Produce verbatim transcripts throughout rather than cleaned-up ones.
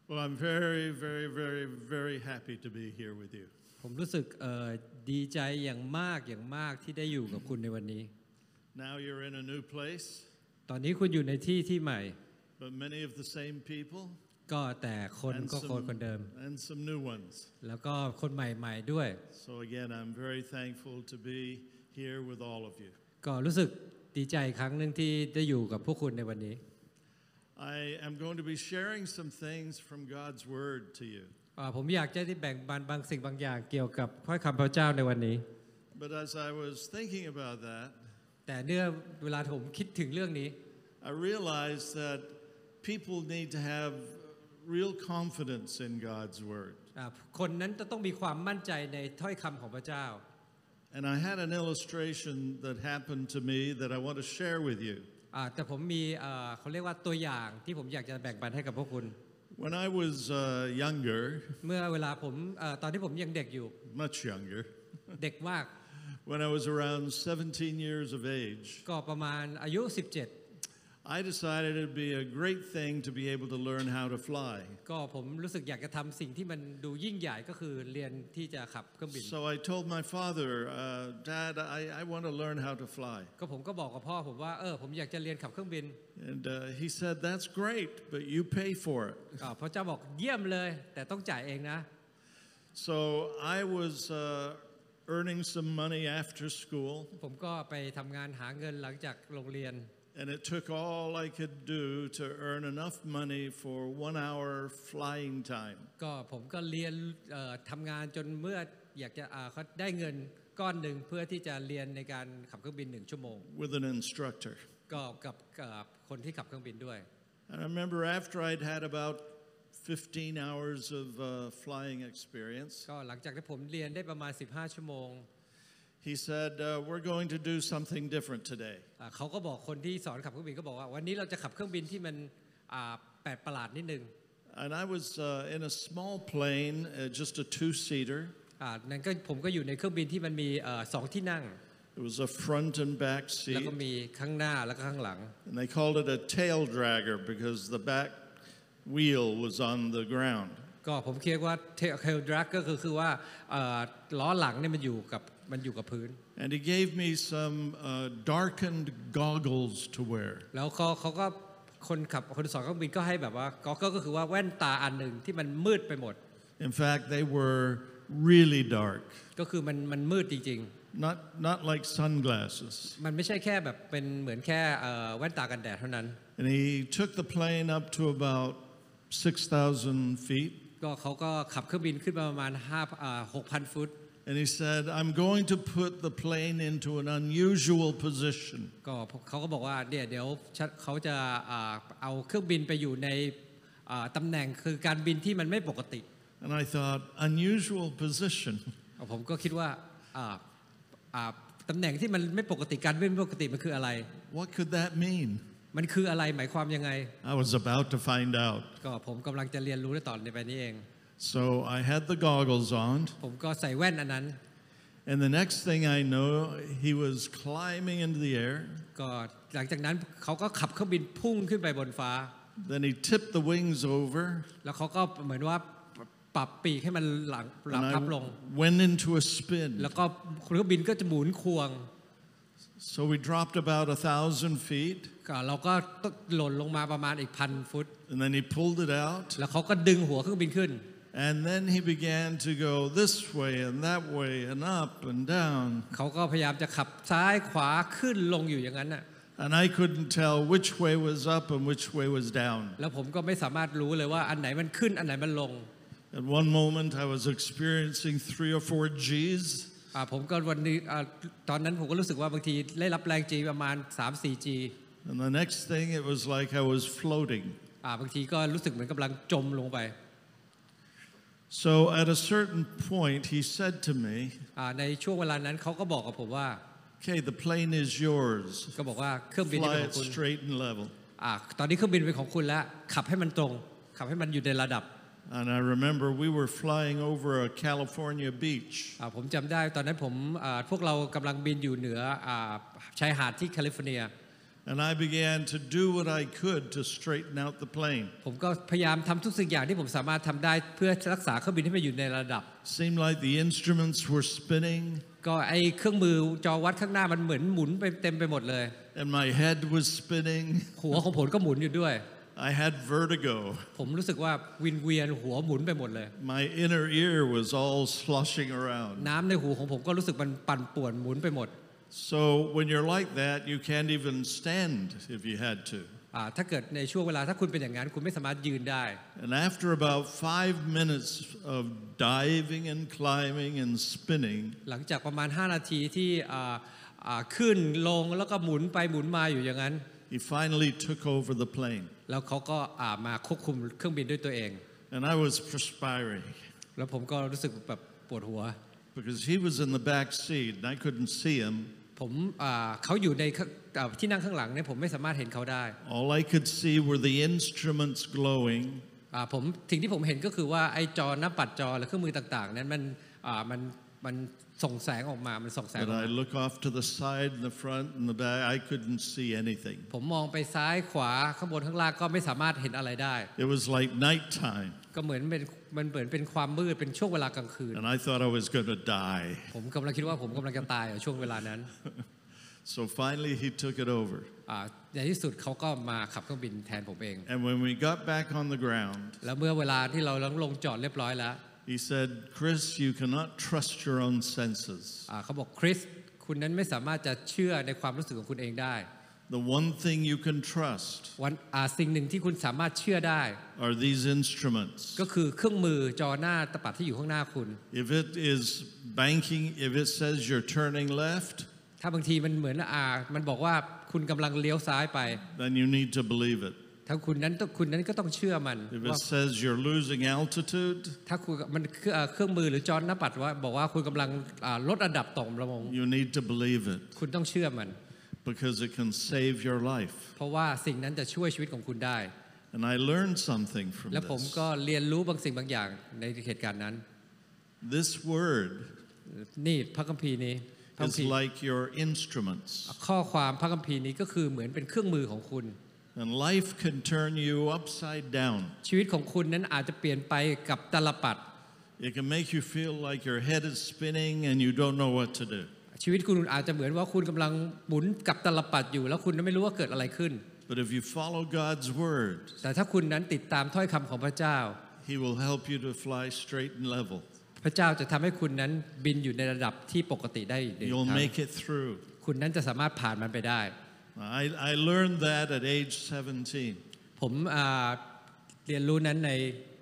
Well, I'm very, very, very, very happy to be here with you. ผมรู้สึกดีใจอย่างมากอย่างมากที่ได้อยู่กับคุณในวันนี้ Now you're in a new place. ตอนนี้คุณอยู่ในที่ที่ใหม่ But many of the same people. ก็แต่คนก็คนคนเดิม And some new ones. แล้วก็คนใหม่ๆด้วย So again, I'm very thankful to be here with all of you. ก็รู้สึกดีใจครั้งหนึ่งที่ได้อยู่กับพวกคุณในวันนี้ I am going to be sharing some things from God's Word to you. ผมอยากจะได้แบ่งปันบางสิ่งบางอย่างเกี่ยวกับข้อคำพระเจ้าในวันนี้ But as I was thinking about that, แต่เนื่อเวลาผมคิดถึงเรื่องนี้ I realized that people need to have real confidence in God's Word. คนนั้นจะต้องมีความมั่นใจในถ้อยคำของพระเจ้า And I had an illustration that happened to me that I want to share with you. แต่ผมมีเขาเรียกว่าตัวอย่างที่ผมอยากจะแบ่งปันให้กับพวกคุณ When I was uh, younger, เมื่อเวลาผมตอนที่ผมยังเด็กอยู่ much younger, เด็กมาก when I was around seventeen years of age, ก็ประมาณอายุสิบเจ็ด I decided it'd be a great thing to be able to learn how to fly. ก็ผมรู้สึกอยากจะทำสิ่งที่มันดูยิ่งใหญ่ก็คือเรียนที่จะขับเครื่องบิน So I told my father, uh, Dad, I, I want to learn how to fly. ก็ผมก็บอกกับพ่อผมว่าเออผมอยากจะเรียนขับเครื่องบิน And uh, he said, that's great, but you pay for it. พระเจ้าบอกเยี่ยมเลยแต่ต้องจ่ายเองนะ So I was uh, earning some money after school. ผมก็ไปทำงานหาเงินหลังจากโรงเรียน And it took all I could do to earn enough money for one hour flying time. ก็ผมก็เรียนทำงานจนเมื่ออยากจะเขาได้เงินก้อนหนึ่งเพื่อที่จะเรียนในการขับเครื่องบินหนึ่งชั่วโมง With an instructor. ก็กับกับคนที่ขับเครื่องบินด้วย And I remember after I'd had about fifteen hours of uh, flying experience. ก็หลังจากที่ผมเรียนได้ประมาณสิบห้าชั่วโมง He said, uh, we're going to do something different today. เขาก็บอกคนที่สอนขับเครื่องบินก็บอกว่าวันนี้เราจะขับเครื่องบินที่มันแปลกประหลาดนิดนึง And I was uh, in a small plane, uh, just a two-seater. นั่นก็ผมก็อยู่ในเครื่องบินที่มันมีสองที่นั่ง It was a front and back แล้ว seat. ก็มีข้างหน้าแล้วก็ข้างหลัง And they called it a tail dragger because the back wheel was on the ground. ก็ผมคิดว่า tail drag ก็คือคือว่าล้อหลังเนี่ยมันอยู่กับมันอยู่กับพื้น And he gave me some uh, darkened goggles to wear. แล้วเขาเขาก็คนขับคนสอนเครื่องบินก็ให้แบบว่าก็ก็คือว่าแว่นตาอันหนึ่งที่มันมืดไปหมด In fact, they were really dark. ก็คือมันมันมืดจริงๆ Not not like sunglasses. มันไม่ใช่แค่แบบเป็นเหมือนแค่แว่นตากันแดดเท่านั้น And he took the plane up to about six thousand feet. ก็เขาก็ขับเครื่องบินขึ้นมาประมาณห้าหกพันฟุต And he said, I'm going to put the plane into an unusual position. ก็เขาก็บอกว่าเดี๋ยวเดี๋ยวเขาจะเอาเครื่องบินไปอยู่ในตำแหน่งคือการบินที่มันไม่ปกติ And I thought, unusual position. ผมก็คิดว่าตำแหน่งที่มันไม่ปกติการบินไม่ปกติมันคืออะไร What could that mean? มันคืออะไรหมายความยังไง I was about to find out. ก็ผมกำลังจะเรียนรู้ในตอนในไปนี้เอง So I had the goggles on. ผมก็ใส่แว่นอันนั้น And the next thing I know, he was climbing into the air. ก็หลังจากนั้นเขาก็ขับเครื่องบินพุ่งขึ้นไปบนฟ้า Then he tipped the wings over. แล้วเขาก็เหมือนว่าปรับปีกให้มันหลังหลังทับลง Went into a spin. แล้วก็เครื่องบินก็จะหมุนควง So we dropped about a thousand feet. ก็เราก็หล่นลงมาประมาณอีกพันฟุต And then he pulled it out. แล้วเขาก็ดึงหัวเครื่องบินขึ้น And then he began to go this way and that way and up and down. เขาก็พยายามจะขับซ้ายขวาขึ้นลงอยู่อย่างนั้นน่ะ And I couldn't tell which way was up and which way was down. แล้วผมก็ไม่สามารถรู้เลยว่าอันไหนมันขึ้นอันไหนมันลง At one moment I was experiencing three or four G's. ผมก็วันนี้ตอนนั้นผมก็รู้สึกว่าบางทีได้รับแรง G ประมาณ สามสี่ G. And the next thing it was like I was floating. บางทีก็รู้สึกเหมือนกำลังจมลงไป So at a certain point he said to me ในช่วงเวลานั้นเขาก็บอกกับผมว่า Okay, the plane is yours. ก็บอกว่าเครื่องบินเป็นของคุณ Fly it straight and level. ตอนนี้เครื่องบินเป็นของคุณแล้วขับให้มันตรงขับให้มันอยู่ในระดับ And I remember we were flying over a California beach. ผมจำได้ตอนนั้นผมพวกเรากำลังบินอยู่เหนือชายหาดที่แคลิฟอร์เนีย And I began to do what I could to straighten out the plane. ผมก็พยายามทำทุกสิ่งอย่างที่ผมสามารถทำได้เพื่อรักษาเครื่องบินให้มันอยู่ในระดับ Seemed like the instruments were spinning. ก็ไอเครื่องมือจอวัดข้างหน้ามันเหมือนหมุนไปเต็มไปหมดเลย And my head was spinning. หัวของผมก็หมุนอยู่ด้วย I had vertigo. ผมรู้สึกว่าวินเวียนหัวหมุนไปหมดเลย My inner ear was all sloshing around. น้ำในหูของผมก็รู้สึกมันปั่นป่วนหมุนไปหมด So when you're like that, you can't even stand if you had to. อ่าถ้าเกิดในช่วงเวลาถ้าคุณเป็นอย่างนั้นคุณไม่สามารถยืนได้ And after about five minutes of diving and climbing and spinning, หลังจากประมาณห้านาทีที่อ่าอ่าขึ้นลงแล้วก็หมุนไปหมุนมาอยู่อย่างนั้น he finally took over the plane. แล้วเขาก็อ่ามาควบคุมเครื่องบินด้วยตัวเอง And I was perspiring แล้วผมก็รู้สึกแบบปวดหัว because he was in the back seat and I couldn't see him. ผมอ่าเขาอยู่ในอ่าที่นั่งข้างหลังเนี่ยผมไม่สามารถเห็นเขาได้ All I could see were the instruments glowing. อ่าผมสิ่งที่ผมเห็นก็คือว่าไอ้จอหน้าปัดจอและเครื่องมือต่างๆนั้นมันอ่ามันมันส่งแสงออกมามันส่องแสงอ But อก I มา look off to the side and the front and the back. I couldn't see anything. ผมมองไปซ้ายขวาข้างบนข้างล่างก็ไม่สามารถเห็นอะไรได้ It was like nighttime. ก็เหมือนเป็นมันเหมือนเป็นความมืดเป็นช่วงเวลากลางคืน And I thought I was going to die. ผมกำลังคิดว่าผมกำลังจะตายในช่วงเวลานั้น So finally he took it over. อ่าในที่สุดเขาก็มาขับเครื่องบินแทนผมเอง And when we got back on the ground, แล้วเมื่อเวลาที่เราลงจอดเรียบร้อยแล้ว he said, Chris, you cannot trust your own senses. อ่าเขาบอกคริสคุณนั้นไม่สามารถจะเชื่อในความรู้สึกของคุณเองได้ The one thing you can trust วันอ่าสิ่งหนึ่งที่คุณสามารถเชื่อได้ are these instruments. ก็คือเครื่องมือจอหน้าตะปัดที่อยู่ข้างหน้าคุณ If it is banking, if it says you're turning left, ถ้าบางทีมันเหมือนอ่ามันบอกว่าคุณกำลังเลี้ยวซ้ายไป then you need to believe it. ถ้าคุณนั้นต้องคุณนั้นก็ต้องเชื่อมัน If ว่า it says you're losing altitude, ถ้าคุณมันคืออ่าเครื่องมือหรือจอหน้าปัดว่าบอกว่าคุณกำลังอ่าลดระดับต่ำลง you need to believe it คุณต้องเชื่อมัน because it can save your life. เพราะว่าสิ่งนั้นจะช่วยชีวิตของคุณได้ And I learned something from และผม this. ก็เรียนรู้บางสิ่งบางอย่างในเหตุการณ์นั้น This word นี่พระคัมภีร์นี้พระคัม is ภีร์ like your instruments. ข้อความพระคัมภีร์นี้ก็คือเหมือนเป็นเครื่องมือของคุณ And life can turn you upside down. ชีวิตของคุณนั้นอาจจะเปลี่ยนไปกับตลปัด It can make you feel like your head is spinning and you don't know what to do. ชีวิตคุณอาจจะเหมือนว่าคุณกำลังหมุนกับตลปัดอยู่แล้วคุณไม่รู้ว่าเกิดอะไรขึ้น But if you follow God's word, แต่ถ้าคุณนั้นติดตามถ้อยคำของพระเจ้า He will help you to fly straight and level. พระเจ้าจะทำให้คุณนั้นบินอยู่ในระดับที่ปกติได้อีก You'll ครั้ง make it through. คุณนั้นจะสามารถผ่านมันไปได้ I, I learned that at age seventeen. ผมอ่าเรียนรู้นั้นใน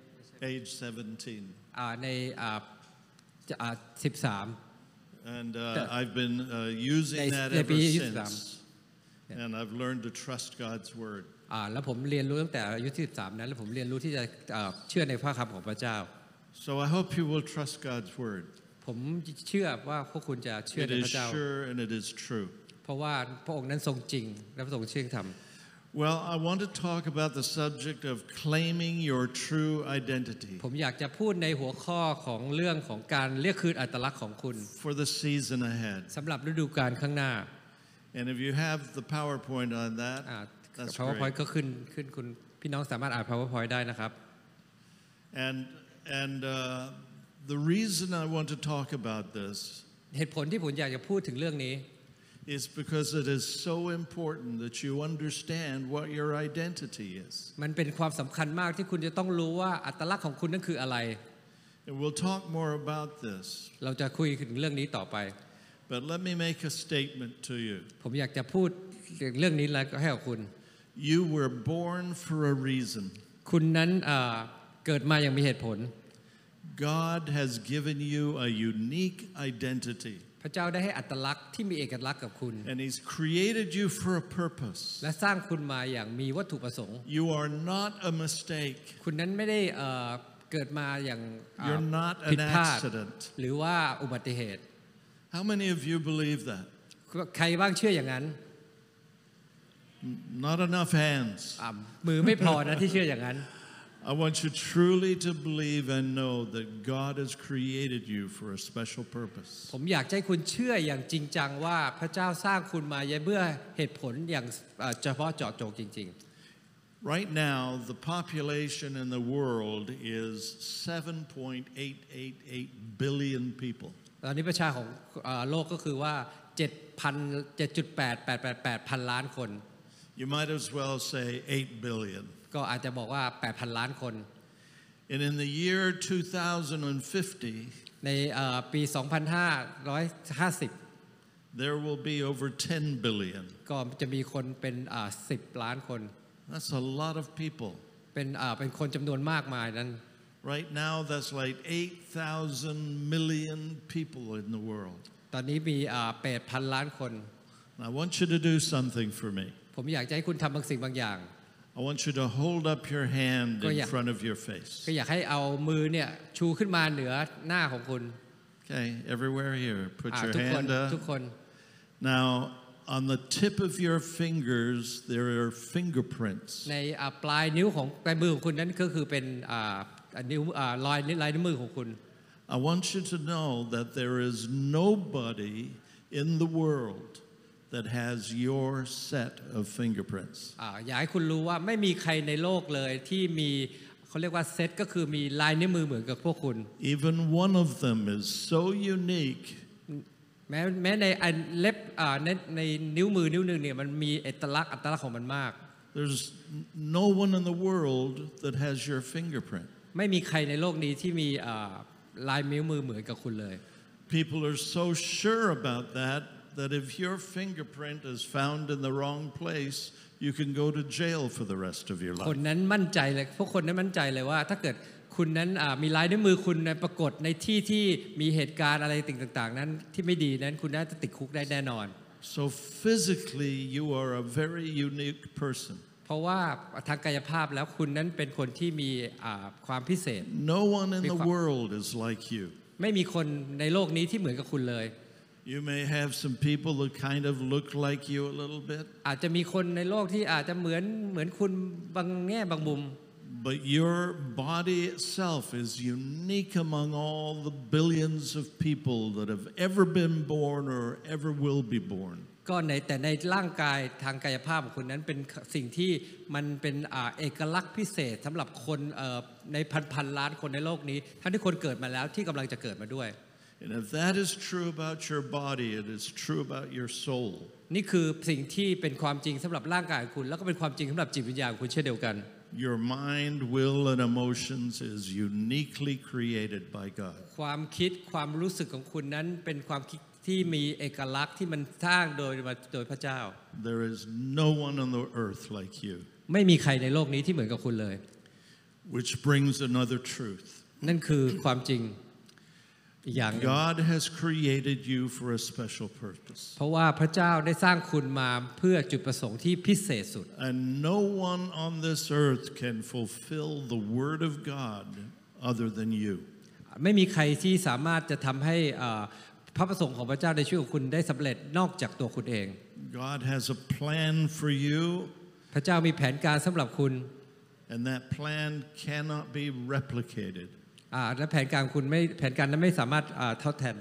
Age seventeen. อ่าในอ่าอ่าสิบสาม And uh, I've been uh, using ใน- that ใน ever ปียี่สิบสาม since. And I've learned to trust God's word. อ่าแล้วผมเรียนรู้ตั้งแต่อายุที่สิบสามนั้นแล้วผมเรียนรู้ที่จะอ่าเชื่อในพระคำของพระเจ้า So I hope you will trust God's word. ผมเชื่อว่าพวกคุณจะเชื่อ It ใน is พระเจ้า sure and it is true. เพราะว่าพระองค์นั้นทรงจริงและพระองค์เชื่อธรรม Well, I want to talk about the subject of claiming your true identity ผมอยากจะพูดในหัวข้อของเรื่องของการเรียกคืนอัตลักษณ์ของคุณ for the season ahead. สำหรับฤดูกาลข้างหน้า And if you have the PowerPoint on that, อ่า that's PowerPoint great. ก็ขึ้นขึ้นคุณพี่น้องสามารถอ่าน PowerPoint ได้นะครับ And and uh, the reason I want to talk about this เหตุผลที่ผมอยากจะพูดถึงเรื่องนี้ is because it is so important that you understand what your identity is. มันเป็นความสำคัญมากที่คุณจะต้องรู้ว่าอัตลักษณ์ของคุณนั้นคืออะไร And we'll talk more about this. เราจะคุยถึงเรื่องนี้ต่อไป But let me make a statement to you. ผมอยากจะพูดเรื่องนี้แล้วก็ให้กับคุณ You were born for a reason. คุณนั้นอ่าเกิดมาอย่างมีเหตุผล God has given you a unique identity. พระเจ้าได้ให้อัตลักษณ์ที่มีเอกลักษณ์กับคุณ And He's created you for a purpose. และสร้างคุณมาอย่างมีวัตถุประสงค์ You are not a mistake. คุณนั้นไม่ได้เอ่อเกิดมาอย่างอ่า You're not ผิด an พลาด accident. หรือว่าอุบัติเหตุ How many of you believe that? ใครบ้างเชื่ออย่างนั้น Not enough hands. อ่ามือไม่พอนะที่เชื่ออย่างนั้น I want you truly to believe and know that God has created you for a special purpose. ผมอยากให้คุณเชื่ออย่างจริงจังว่าพระเจ้าสร้างคุณมาเพื่อเหตุผลอย่างเฉพาะเจาะจงจริงๆ Right now, the population in the world is seven point eight eight eight billion people. ตอนนี้ประชากรของโลกก็คือว่า เจ็ดพัน เจ็ดจุดแปด แปด แปด แปด พันล้านคน You might as well say eight billion. ก็อาจจะบอกว่า แปดพัน ล้านคน And in the year two thousand fifty, ในปีสองพันห้าร้อยห้าสิบ there will be over ten billion. ก็จะมีคนเป็นสิบล้านคน That's a lot of people. เป็นเป็นคนจำนวนมากมายนั้น Right now, that's like eight thousand million people in the world. ตอนนี้มีแปดพันล้านคน I want you to do something for me. ผมอยากจะให้คุณทำบางสิ่งบางอย่าง I want you to hold up your hand in front of your face. ก็อยากให้เอามือเนี่ยชูขึ้นมาเหนือหน้าของคุณ Okay, everywhere here, put your ทุกคน hand up. ทุกคน Now, on the tip of your fingers, there are fingerprints. ในปลายนิ้วของปลายมือของคุณนั้นก็คือเป็นนิ้วรอยลายนิ้วมือของคุณ I want you to know that there is nobody in the world that has your set of fingerprints. อยากให้คุณรู้ว่าไม่มีใครในโลกเลยที่มีเขาเรียกว่าเซตก็คือมีลายนิ้วมือเหมือนกับพวกคุณ Even one of them is so unique. แม้แม้ในเล็บในในนิ้วมือนิ้วหนึ่งเนี่ยมันมีเอกลักษณ์อัตลักษณ์ของมันมาก There's no one in the world that has your fingerprint. ไม่มีใครในโลกนี้ที่มีลายนิ้วมือเหมือนกับคุณเลย People are so sure about that that if your fingerprint is found in the wrong place, you can go to jail for the rest of your คน life. นั้นมั่นใจเลยพวกคนนั้นมั่นใจเลยว่าถ้าเกิดคุณนั้นมีลายนิ้วมือคุณปรากฏในที่ที่มีเหตุการณ์อะไรต่างๆนั้นที่ไม่ดีนั้นคุณน่าจะติดคุกได้แน่นอน So physically, you are a very unique person. เพราะว่าทางกายภาพแล้วคุณนั้นเป็นคนที่มีความพิเศษ No one in the world is like you. ไม่มีคนในโลกนี้ที่เหมือนกับคุณเลย You may have some people that kind of look like you a little bit. อาจจะมีคนในโลกที่อาจจะเหมือนเหมือนคุณบางแง่บางมุม But your body itself is unique among all the billions of people that have ever been born or ever will be born. ก็ในแต่ในร่างกายทางกายภาพของคุณนั้นเป็นสิ่งที่มันเป็นเอกลักษณ์พิเศษสำหรับคนในพันพันล้านคนในโลกนี้ทั้งที่คนเกิดมาแล้วที่กำลังจะเกิดมาด้วย And if that is true about your body, it is true about your soul. นี่คือสิ่งที่เป็นความจริงสำหรับร่างกายของคุณแล้วก็เป็นความจริงสำหรับจิตวิญญาณของคุณเช่นเดียวกัน Your mind, will, and emotions is uniquely created by God. ความคิดความรู้สึกของคุณนั้นเป็นความคิดที่มีเอกลักษณ์ที่มันสร้างโดยโดยพระเจ้า There is no one on the earth like you. ไม่มีใครในโลกนี้ที่เหมือนกับคุณเลย Which brings another truth. นั่นคือความจริงอีกอย่าง God has created you for a special purpose. เพราะว่าพระเจ้าได้สร้างคุณมาเพื่อจุดประสงค์ที่พิเศษสุด And no one on this earth can fulfill the word of God other than you. ไม่มีใครที่สามารถจะทำให้พระประสงค์ของพระเจ้าในชีวิตของคุณได้สำเร็จนอกจากตัวคุณเอง God has a plan for you. พระเจ้ามีแผนการสำหรับคุณ And that plan cannot be replicated. และแผนการคุณไม่แผนการนั้นไม่สามารถทดแทนได้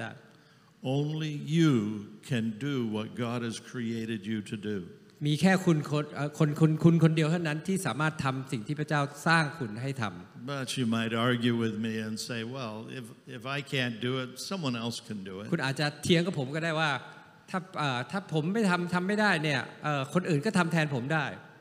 Only you can do what God has created you to do. มีแค่คุณคนคนคุณคุณคนเดียวเท่านั้นที่สามารถทำสิ่งที่พระเจ้าสร้างคุณให้ทำ But you might argue with me and say, well, if if I can't do it, someone else can do it. คุณอาจจะเถียงกับผมก็ได้ว่าถ้าถ้าผมไม่ทำทำไม่ได้เนี่ยคนอื่นก็ทำแทนผมได้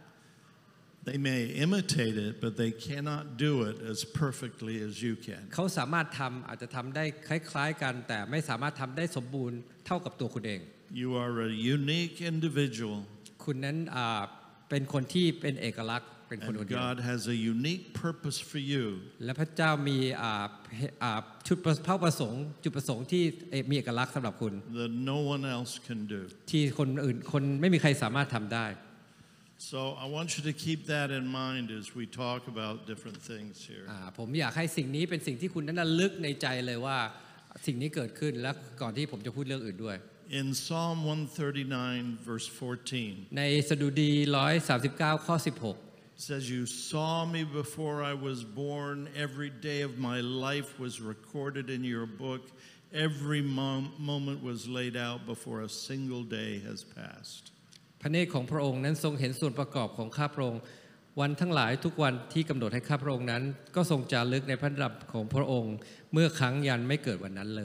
They may imitate it, but they cannot do it as perfectly as you can. เขาสามารถทำอาจจะทำได้คล้ายๆกันแต่ไม่สามารถทำได้สมบูรณ์เท่ากับตัวคุณเอง You are a unique individual. คุณนั้นเป็นคนที่เป็นเอกลักษณ์เป็นคนคนเดียว God has a unique purpose for you. และพระเจ้ามีจุดประสงค์จุดประสงค์ที่มีเอกลักษณ์สำหรับคุณ That no one else can do. ที่คนอื่นคนไม่มีใครสามารถทำได้ So I want you to keep that in mind as we talk about different things here. ผมอยากให้สิ่งนี้เป็นสิ่งที่คุณนั้นระลึกในใจเลยว่าสิ่งนี้เกิดขึ้นและก่อนที่ผมจะพูดเรื่องอื่นด้วย In Psalm one thirty-nine verse fourteen. ในสดุดีหนึ่งร้อยสามสิบเก้าข้อสิบหก It says, "You saw me before I was born. Every day of my life was recorded in your book. Every mom- moment was laid out before a single day has passed." พระเนตรของพระองค์นั้นทรงเห็นส่วนประกอบของข้าพระองค์วันทั้งหลายทุกวันที่กำหนดให้ข้าพระองค์นั้นก็ทรงจารึกในพระดำรัสของพระองค์เมื่อครั้งยันไม่เกิดวันนั้นเลย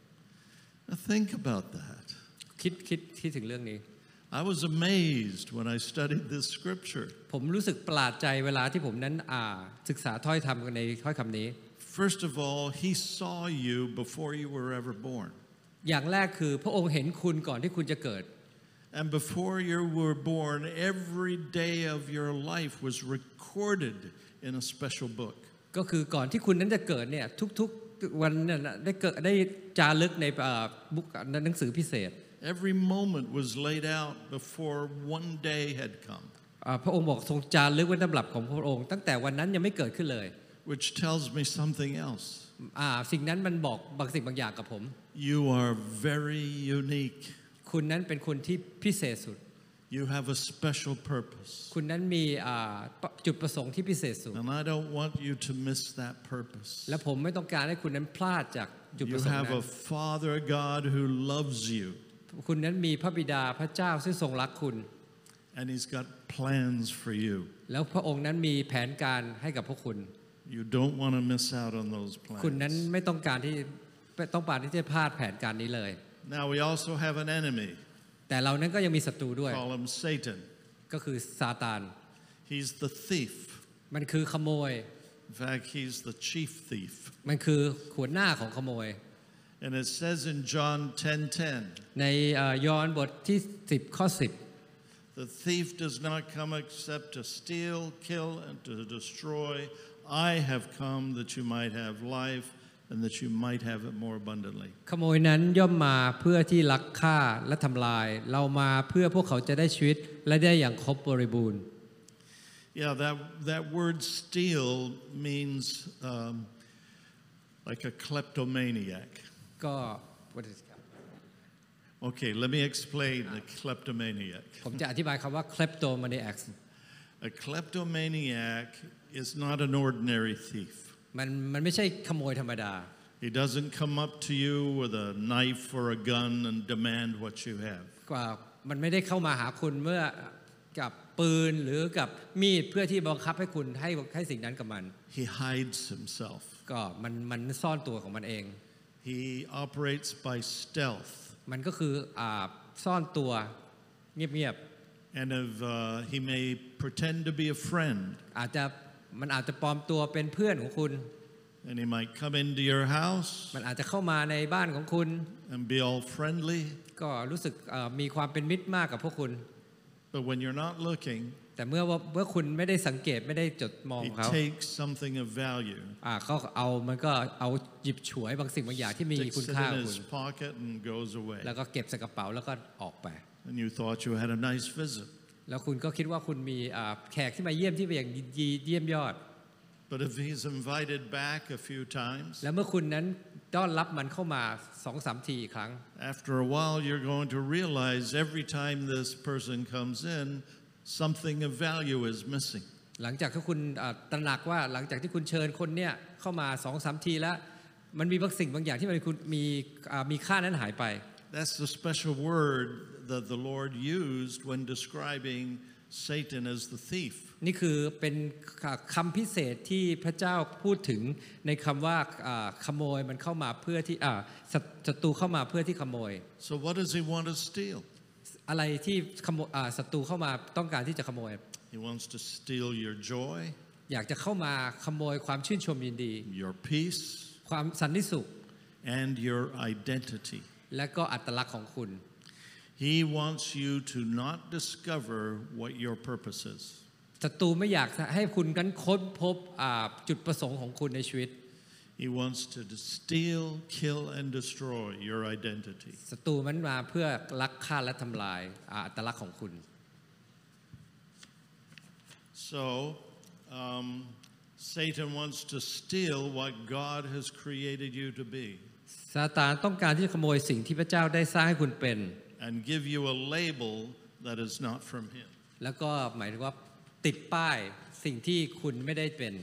Now think about that. คิดคิดคิดถึงเรื่องนี้ I was amazed when I studied this scripture. ผมรู้สึกประหลาดใจเวลาที่ผมนั้นอ่าศึกษาถ้อยคำในถ้อยคำนี้ First of all, he saw you before you were ever born. อย่างแรกคือพระองค์เห็นคุณก่อนที่คุณจะเกิด And before you were born, every day of your life was recorded in a special book. ก็คือก่อนที่คุณนั้นจะเกิดเนี่ยทุกๆวันเนี่ยได้เกิดได้จารึกในบุ๊กหนังสือพิเศษ Every moment was laid out before one day had come. พระองค์บอกทรงจารึกไว้ในตำรับของพระองค์ตั้งแต่วันนั้นยังไม่เกิดขึ้นเลย Which tells me something else. สิ่งนั้นมันบอกบางสิ่งบางอย่างกับผม You are very unique. คุณนั้นเป็นคนที่พิเศษสุด You have a special purpose. คุณนั้นมีจุดประสงค์ที่พิเศษสุด And I don't want you to miss that purpose. และผมไม่ต้องการให้คุณนั้นพลาดจากจุดประ You สงค์ have นั้ a น Father God who loves you. คุณนั้นมีพระบิดาพระเจ้าซึ่งทรงรักคุณ And He's got plans for you. แล้วพระองค์นั้นมีแผนการให้กับพวกคุณ You don't want to miss out on those คุณนั้น plans. ไม่ต้องการที่ต้องการที่จะพลาดแผนการนี้เลย Now we also have an enemy. แต่เรานั้นก็ยังมีศัตรูด้วย Call him Satan. ก็คือซาตาน He's the thief. มันคือขโมย In fact, he's the chief thief. มันคือหัวหน้าของขโมย And it says in John ten ten, ในยอห์นบทที่สิบข้อสิบ the thief does not come except to steal, kill, and to destroy. I have come that you might have life and that you might have it more abundantly. ขโมยนั้นย่อมมาเพื่อที่ลักฆ่าและทำลาย เรามาเพื่อพวกเขาจะได้ชีวิตและได้อย่างครบบริบูรณ์ Yeah, that, that word steal means um, like a kleptomaniac. ก็ what is it? Okay, let me explain the kleptomaniac. ผมจะอธิบายคำว่า kleptomaniac A kleptomaniac is not an ordinary thief. มันมันไม่ใช่ขโมยธรรมดา He doesn't come up to you with a knife or a gun and demand what you have. กว่ามันไม่ได้เข้ามาหาคุณเมื่อกับปืนหรือกับมีดเพื่อที่บังคับให้คุณให้ให้สิ่งนั้นกับมัน He hides himself. ก็มันมันซ่อนตัวของมันเอง He operates by stealth. มันก็คืออ่าซ่อนตัวเงียบ And if uh, he may pretend to be a friend, ๆอาจจะมันอาจจะปลอมตัวเป็นเพื่อนของคุณ and he might come into your house มันอาจจะเข้ามาในบ้านของคุณ and be all friendly. ก็รู้สึกมีความเป็นมิตรมากกับพวกคุณ But when you're not looking, แต่เมื่อเมื่อคุณไม่ได้สังเกตไม่ได้จดมอง he เขา takes something of value, อ่าเขาเอามันก็เอาหยิบฉวยบางสิ่งบางอย่างที่มี sticks คุณ it ค่า in กับคุ his ณ pocket and goes away. แล้วก็เก็บใส่กระเป๋าแล้วก็ออกไป And you thought you had a nice visit. แล้วคุณก็คิดว่าคุณมีแขกที่มาเยี่ยมที่เป็นอย่างดีเยี่ยมยอด But if he's invited back a few times, แล้วเมื่อคุณนั้นต้อนรับมันเข้ามาสองสามทีอีกครั้ง after a while you're going to realize every time this person comes in, something of value is missing. หลังจากที่คุณตระหนักว่าหลังจากที่คุณเชิญคนเนี่ยเข้ามาสองสามทีแล้วมันมีบางสิ่งบางอย่างที่มันคุณมีมีค่านั้นหายไป That's the special word that the Lord used when describing Satan as the thief. นี่คือเป็นคำพิเศษที่พระเจ้าพูดถึงในคำว่าขโมยมันเข้ามาเพื่อที่ศัตรูเข้ามาเพื่อที่ขโมย So what does he want to steal? อะไรที่ขโมยศัตรูเข้ามาต้องการที่จะขโมย He wants to steal your joy, อยากจะเข้ามาขโมยความชื่นชมยินดี your peace, ความสันติสุข and your identity. และก็อัตลักษณ์ของคุณ He wants you to not discover what your purpose is. ศัตรูไม่อยากให้คุณกันค้นพบจุดประสงค์ของคุณในชีวิต He wants to steal, kill, and destroy your identity. ศัตรูมันมาเพื่อลักฆ่าและทำลายอัตลักษณ์ของคุณ So, um, Satan wants to steal what God has created you to be. ซาตานต้องการที่จะขโมยสิ่งที่พระเจ้าได้สร้างให้คุณเป็น And give you a label that is not from him. แล้วก็หมายถึงว่าติดป้ายสิ่งที่คุณไม่ได้เป็น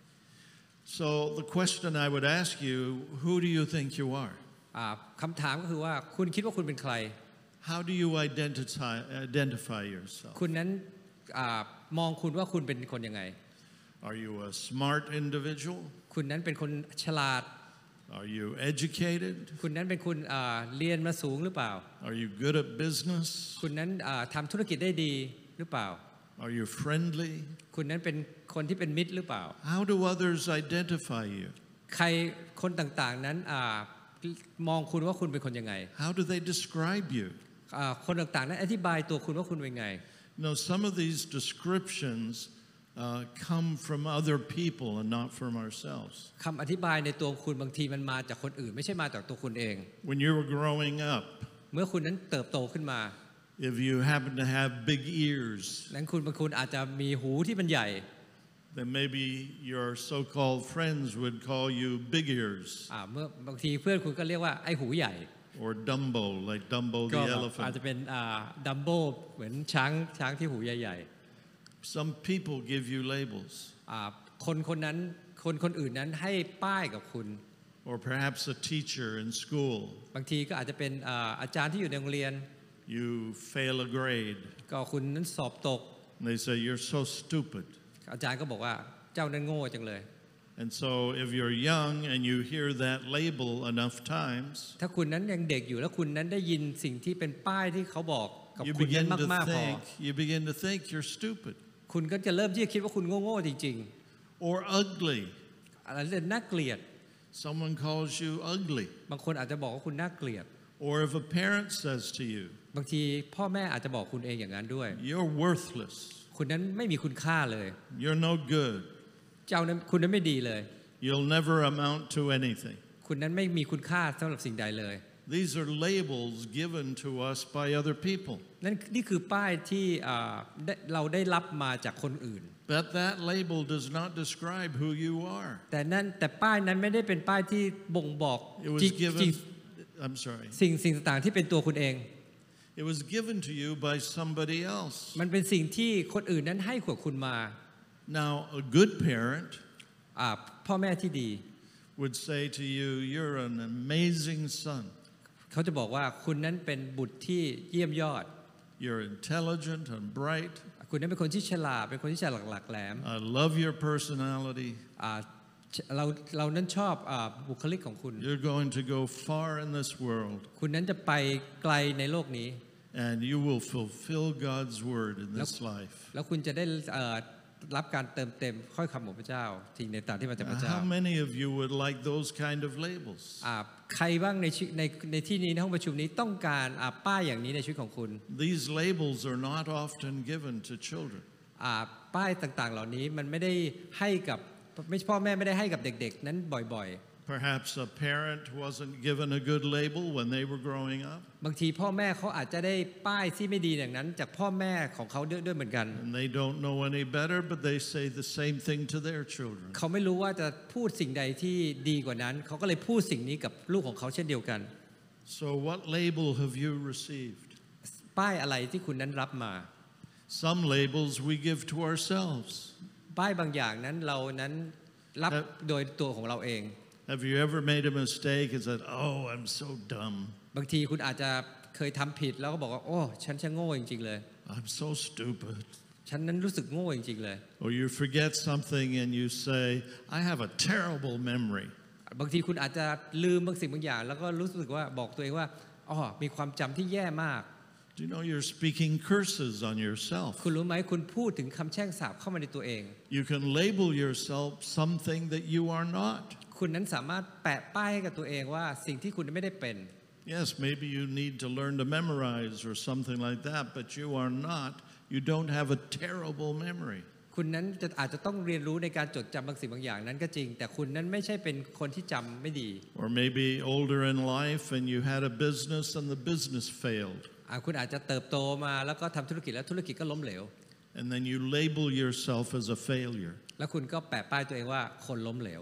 So the question I would ask you, who do you think you are? อ่าคำถามก็คือว่าคุณคิดว่าคุณเป็นใคร How do you identify identify yourself? คุณนั้นอามองคุณว่าคุณเป็นคนยังไง Are you a smart individual? คุณนั้นเป็นคนฉลาด Are you educated? คุณนั้นเป็นคนอ่าเรียนมาสูงหรือเปล่า Are you good at business? คุณนั้นอ่าทำธุรกิจได้ดีหรือเปล่า Are you friendly? คุณนั้นเป็นคนที่เป็นมิตรหรือเปล่า How do others identify you? ใครคนต่างๆนั้นอ่ามองคุณว่าคุณเป็นคนยังไง How do they describe you? อ่าคนต่างๆนั้นอธิบายตัวคุณว่าคุณเป็นไง No, some of these descriptions uh, come from other people and not from ourselves. คำอธิบายในตัวคุณบางทีมันมาจากคนอื่น ไม่ใช่มาจากตัวคุณเอง When you were growing up, เมื่อคุณนั้นเติบโตขึ้นมา if you happen to have big ears, นั้นคุณบางคุณอาจจะมีหูที่มันใหญ่ then maybe your so-called friends would call you big ears อ่าเมื่อบางทีเพื่อนคุณก็เรียกว่าไอ้หูใหญ่ or Dumbo, like Dumbo ก็ the อาจจะ elephant. เป็นดัมโบเหมือนช้างช้างที่หูใหญ่ Some people give you labels, ๆอ่าคนคนนั้นคนคนอื่นนั้นให้ป้ายกับคุณ or perhaps a teacher in school. บางทีก็อาจจะเป็นอ่าอาจารย์ที่อยู่ในโรงเรียน You fail a grade, ก็คุณนั้นสอบตก and they say you're so stupid. อาจารย์ก็บอกว่าเจ้านั้นโง่จังเลย And so if you're young and you hear that label enough times, ถ้าคุณนั้นยังเด็กอยู่แล้วคุณนั้นได้ยินสิ่งที่เป็นป้ายที่เขาบอกกับ you คุณนั้น begin มาก to ๆพอ think, you begin to think you're stupid คุณก็จะเริ่มที่จะคิดว่าคุณโง่ๆจริง or ugly. ๆอะไรเรื่องน่าเกลียด Someone calls you ugly. บางคนอาจจะบอกว่าคุณน่าเกลียด Or if a parent says to you, บางทีพ่อแม่อาจจะบอกคุณเองอย่างนั้นด้วย you're worthless, คุณนั้นไม่มีคุณค่าเลย you're no good, เจ้านั้นคุณนั้นไม่ดีเลย you'll never amount to anything. คุณนั้นไม่มีคุณค่าสำหรับสิ่งใดเลย These are labels given to us by other people. นั่นนี่คือป้ายที่อ่าได้เราได้รับมาจากคนอื่น But that label does not describe who you are. แต่นั่นแต่ป้ายนั้นไม่ได้เป็นป้ายที่บ่งบอก It was จริง given, จริง I'm sorry, สิ่งสิ่งต่างๆที่เป็นตัวคุณเอง it was given to you by somebody else. มันเป็นสิ่งที่คนอื่นนั้นให้ขวดคุณมา Now, a good parent อ่าพ่อแม่ที่ดี would say to you, you're an amazing son. เขาจะบอกว่าคุณนั้นเป็นบุตรที่เยี่ยมยอด You're intelligent and bright. คุณนั้นเป็นคนที่ฉลาดเป็นคนที่ฉลาดหลักแหลม I love your personality. อ่าเราเรานั้นชอบอ่าบุคลิกของคุณ You're going to go far in this world, คุณนั้นจะไปไกลในโลกนี้ and you will fulfill God's word in this life. แล้วคุณจะได้เอ่อรับการเติมเต็มข้อยคำของพระเจ้าสิ่งในต่างที่มาจากพระเจ้า How many of you would like those kind of labels? อ่าใครบ้างในชีวิตในในที่นี้ในห้องประชุมนี้ต้องการอ่าป้ายอย่างนี้ในชีวิตของคุณ These labels are not often given to children. อ่าป้ายต่างๆ เหล่านี้มันไม่ได้ให้กับไม่พ่อแม่ไม่ได้ให้กับเด็กๆนั้นบ่อย Perhaps a parent wasn't given a good label when they were growing up, ๆ บางทีพ่อแม่เขาอาจจะได้ป้ายที่ไม่ดีอย่างนั้นจากพ่อแม่ของเขาด้วยด้วยเหมือนกัน and they don't know any better, but they say the same thing to their children. เขาไม่รู้ว่าจะพูดสิ่งใดที่ดีกว่านั้นเขาก็เลยพูดสิ่งนี้กับลูกของเขาเช่นเดียวกัน So what label have you received? ป้ายอะไรที่คุณนั้นรับมา Some labels we give to ourselves. ป้ายบางอย่างนั้นเรานั้นรับครับโดยตัวของเราเอง Have you ever made a mistake and said, "Oh, I'm so dumb. บางทีคุณอาจจะเคยทำผิดแล้วก็บอกว่าโอ้ฉันช่างโง่จริงๆเลย I'm so stupid." ฉันนั้นรู้สึกโง่จริงๆเลย Or you forget something and you say, "I have a terrible memory." บางทีคุณอาจจะลืมบางสิ่งบางอย่าง แล้วก็รู้สึกว่าบอกตัวเองว่าอ๋อมีความจำที่แย่มาก Do you know you're speaking curses on yourself? คุณรู้ไหมคุณพูดถึงคำแช่งสาปเข้ามาในตัวเอง You can label yourself something that you are not. คุณนั้นสามารถแปะป้ายให้กับตัวเองว่าสิ่งที่คุณไม่ได้เป็น Yes, maybe you need to learn to memorize or something like that, but you are not. You don't have a terrible memory. คุณนั้นจะอาจจะต้องเรียนรู้ในการจดจำบางสิ่งบางอย่างนั้นก็จริง แต่คุณนั้นไม่ใช่เป็นคนที่จำไม่ดี Or maybe older in life and you had a business and the business failed. อ่าคุณอาจจะเติบโตมาแล้วก็ทำธุรกิจแล้วธุรกิจก็ล้มเหลว And then you label yourself as a failure. แล้วคุณก็แปะป้ายตัวเองว่าคนล้มเหลว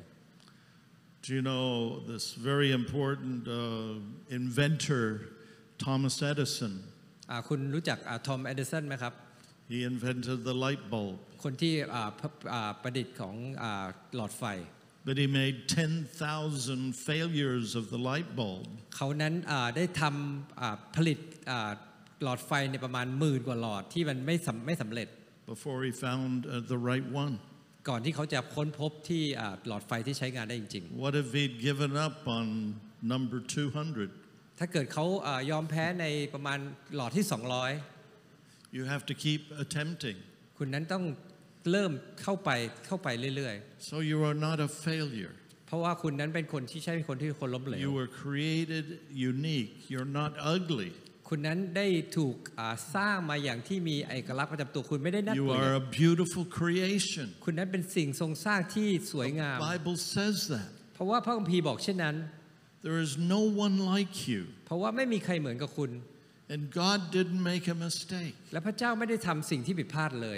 Do you know this very important uh, inventor, Thomas Edison? อ่าคุณรู้จักทอม เอดิสันไหมครับ He invented the light bulb. คนที่อ่าพระอ่าประดิษฐ์ของอ่าหลอดไฟ But he made ten thousand failures of the light bulb เขานั้นอ่าได้ทำอ่าผลิตอ่าหลอดไฟในประมาณหมื่นกว่าหลอดที่มันไม่สำไม่สำเร็จ before he found uh, the right one. ก่อนที่เขาจะค้นพบที่อ่าหลอดไฟที่ใช้งานได้จริง What if he'd given up on number two hundred? ๆ ถ้าเกิดเขาอ่ายอมแพ้ในประมาณหลอดที่สองร้อย You have to keep attempting. คุณนั้นต้องเริ่มเข้าไปเข้าไปเรื่อย So you are not a failure. ๆ เพราะว่าคุณนั้นเป็นคนที่ใช่เป็นคนที่คนล้มเหลว You were created unique. You're not ugly. คุณนั้นได้ถูกอ่าสร้างมาอย่างที่มีเอกลักษณ์ประจำตัวคุณไม่ได้น่า You เกลีย are ด a beautiful creation. คุณนั้นเป็นสิ่งทรงสร้างที่สวยงาม The Bible says that. เพราะว่าพระคัมภีร์บอกเช่นนั้น There is no one like you. เพราะว่าไม่มีใครเหมือนกับคุณ And God didn't make a mistake. และพระเจ้าไม่ได้ทำสิ่งที่ผิดพลาดเลย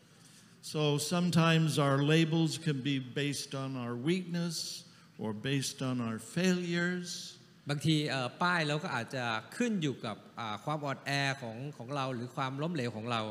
So sometimes our labels can be based on our weakness or based on our failures. บางทีเอ่อป้ายเราก็อาจจะขึ้นอยู่กับอ่าความอ่อนแอของของเราหรือความล้มเหลวของเรา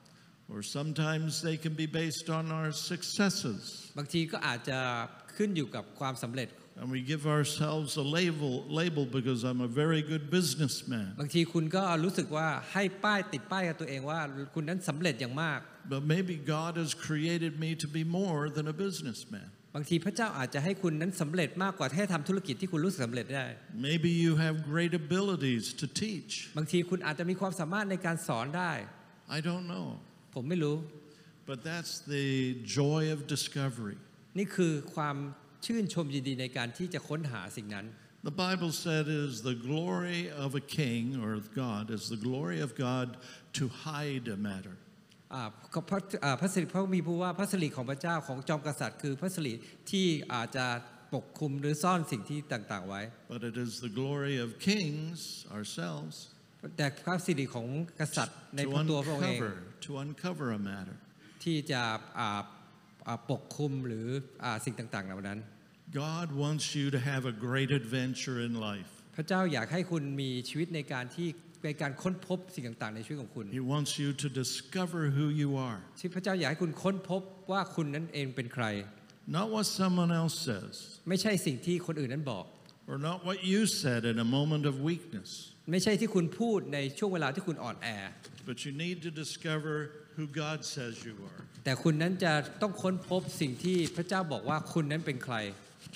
Or sometimes they can be based on our successes. บางทีก็อาจจะขึ้นอยู่กับความสำเร็จ And we give ourselves a label, label because I'm a very good businessman. บางทีคุณก็รู้สึกว่าให้ป้ายติดป้ายกับตัวเองว่าคุณนั้นสำเร็จอย่างมาก But maybe God has created me to be more than a businessman. บางทีพระเจ้าอาจจะให้คุณนั้นสำเร็จมากกว่าแค่ทำธุรกิจที่คุณรู้สึกสำเร็จได้ Maybe you have great abilities to teach. บางทีคุณอาจจะมีความสามารถในการสอนได้ I don't know. ผมไม่รู้ But that's the joy of discovery. นี่คือความชื่นชมยินดีในการที่จะค้นหาสิ่งนั้น The Bible said it is the glory of a king or of God is the glory of God to hide a matter. อ่าพระอ่าพระสิริพระมีพูดว่าพระสิริของพระเจ้าของจอมกษัตริย์คือพระสิริที่อาจจะปกคลุมหรือซ่อนสิ่งที่ต่างๆไว้ But it is the glory of kings ourselves แต่พระสิริของกษัตริย์ใน to พระตัวพระองค์เอง uncover to uncover a matter. ที่จะอ่าอ่าปกคลุมหรืออ่าสิ่งต่างๆเหล่านั้น God wants you to have a great adventure in life. พระเจ้าอยากให้คุณมีชีวิตในการที่ในการค้นพบสิ่งต่างๆในชีวิตของคุณ He wants you to discover who you are. ที่พระเจ้าอยากให้คุณค้นพบว่าคุณนั้นเองเป็นใคร Not what someone else says, ไม่ใช่สิ่งที่คนอื่นนั้นบอก or not what you said in a moment of weakness, ไม่ใช่ที่คุณพูดในช่วงเวลาที่คุณอ่อนแอ but you need to discover who God says you are. แต่คุณนั้นจะต้องค้นพบสิ่งที่พระเจ้าบอกว่าคุณนั้นเป็นใคร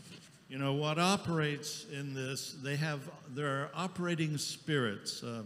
You know what operates in this? They have there are operating spirits um,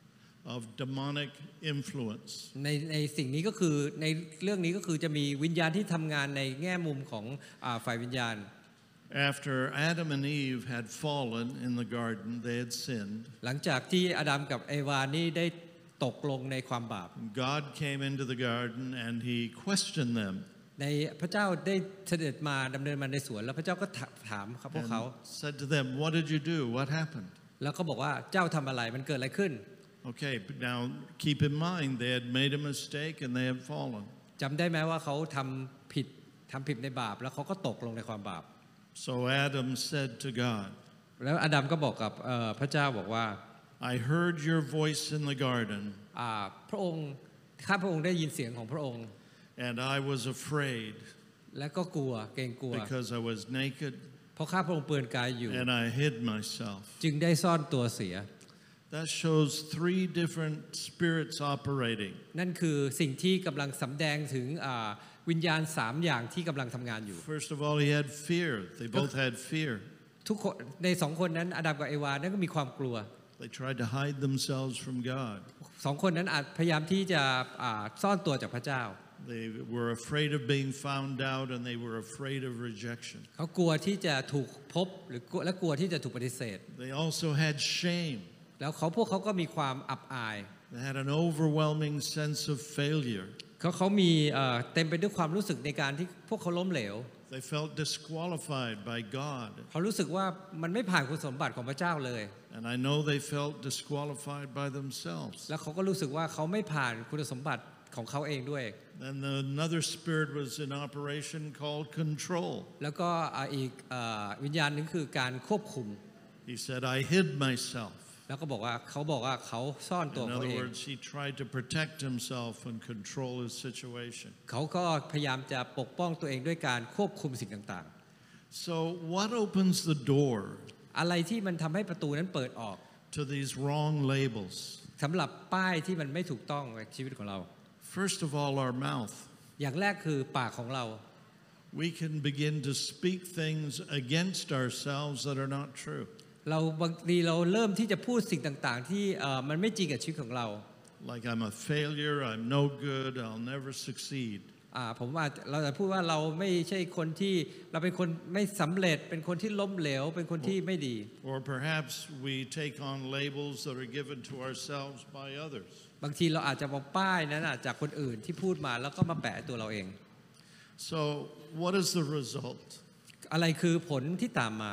of demonic influence. ในในสิ่งนี้ก็คือในเรื่องนี้ก็คือจะมีวิญญาณที่ทำงานในแง่มุมของอ่าฝ่ายวิญญาณ After Adam and Eve had fallen in the garden, they had sinned. หลังจากที่อาดัมกับเอวานี่ได้ตกลงในความบาป God came into the garden and he questioned them ในพระเจ้าได้เสด็จมาดำเนินมาในสวนแล้วพระเจ้าก็ถามครับพวกเขา and said to them, "What did you do? What happened?" แล้วก็บอกว่าเจ้าทำอะไรมันเกิดอะไรขึ้น Okay, but now keep in mind they had made a mistake and they had fallen. จำได้ไหมว่าเขาทำผิดทำผิดในบาปแล้วเขาก็ตกลงในความบาป So Adam said to God, แล้วอาดัมก็บอกกับเอ่อพระเจ้าบอกว่า "I heard your voice in the garden, อ่าพระองค์ข้าพระองค์ได้ยินเสียงของพระองค์ and I was afraid และก็กลัวเกรงกลัว because I was naked เพราะข้าพระองค์เปลือยกายอยู่ and I hid myself." จึงได้ซ่อนตัวเสีย That shows three different spirits operating. นั่นคือสิ่งที่กำลังสำแดงถึงอ่าวิญญาณสามอย่างที่กำลังทำงานอยู่ First of all, he had fear. They both had fear. ทุกคนในสองคนนั้นอาดัมกับเอวานั้นก็มีความกลัว They tried to hide themselves from God. สองคนนั้นอาจพยายามที่จะอ่าซ่อนตัวจากพระเจ้า They were afraid of being found out and they were afraid of rejection. เขากลัวที่จะถูกพบหรือและกลัวที่จะถูกปฏิเสธ They also had shame. แล้วเขาพวกเขาก็มีความอับอาย They had an overwhelming sense of failure. เขาเขามีเอ่อเต็มไปด้วยความรู้สึกในการที่พวกเขาล้มเหลว They felt disqualified by God. เขารู้สึกว่ามันไม่ผ่านคุณสมบัติของพระเจ้าเลย And I know they felt disqualified by themselves. แล้วเขาก็รู้สึกว่าเขาไม่ผ่านคุณสมบัติของเขาเองด้วย And another spirit was in operation called control. แล้วก็อ่าอีกเอ่อวิญญาณหนึงคือการควบคุม He said, "I hid myself." แล้วก็บอกว่าเขาบอกว่าเขาซ่อนตัว In เขา other เอง words, he tried to protect himself and control his situation. เขาก็พยายามจะปกป้องตัวเองด้วยการควบคุมสิ่งต่าง So, what opens the door ๆ อะไรที่มันทำให้ประตูนั้นเปิดออก to these wrong labels? สำหรับป้ายที่มันไม่ถูกต้องในชีวิตของเรา First of all, our mouth. อย่างแรกคือปากของเรา We can begin to speak things against ourselves that are not true. เราบางทีเราเริ่มที่จะพูดสิ่งต่างๆ ที่เอ่อมันไม่จริงกับชีวิตของเรา Like I'm a failure, I'm no good, I'll never succeed. อ่าผมว่าเราจะพูดว่าเราไม่ใช่คนที่เราเป็นคนไม่สำเร็จเป็นคนที่ล้มเหลวเป็นคนที่ไม่ดี Or perhaps we take on labels that are given to ourselves by others. บางทีเราอาจจะมองป้ายนั้นอะจากคนอื่นที่พูดมาแล้วก็มาแปะตัวเราเอง So, what is the result? อะไรคือผลที่ตามมา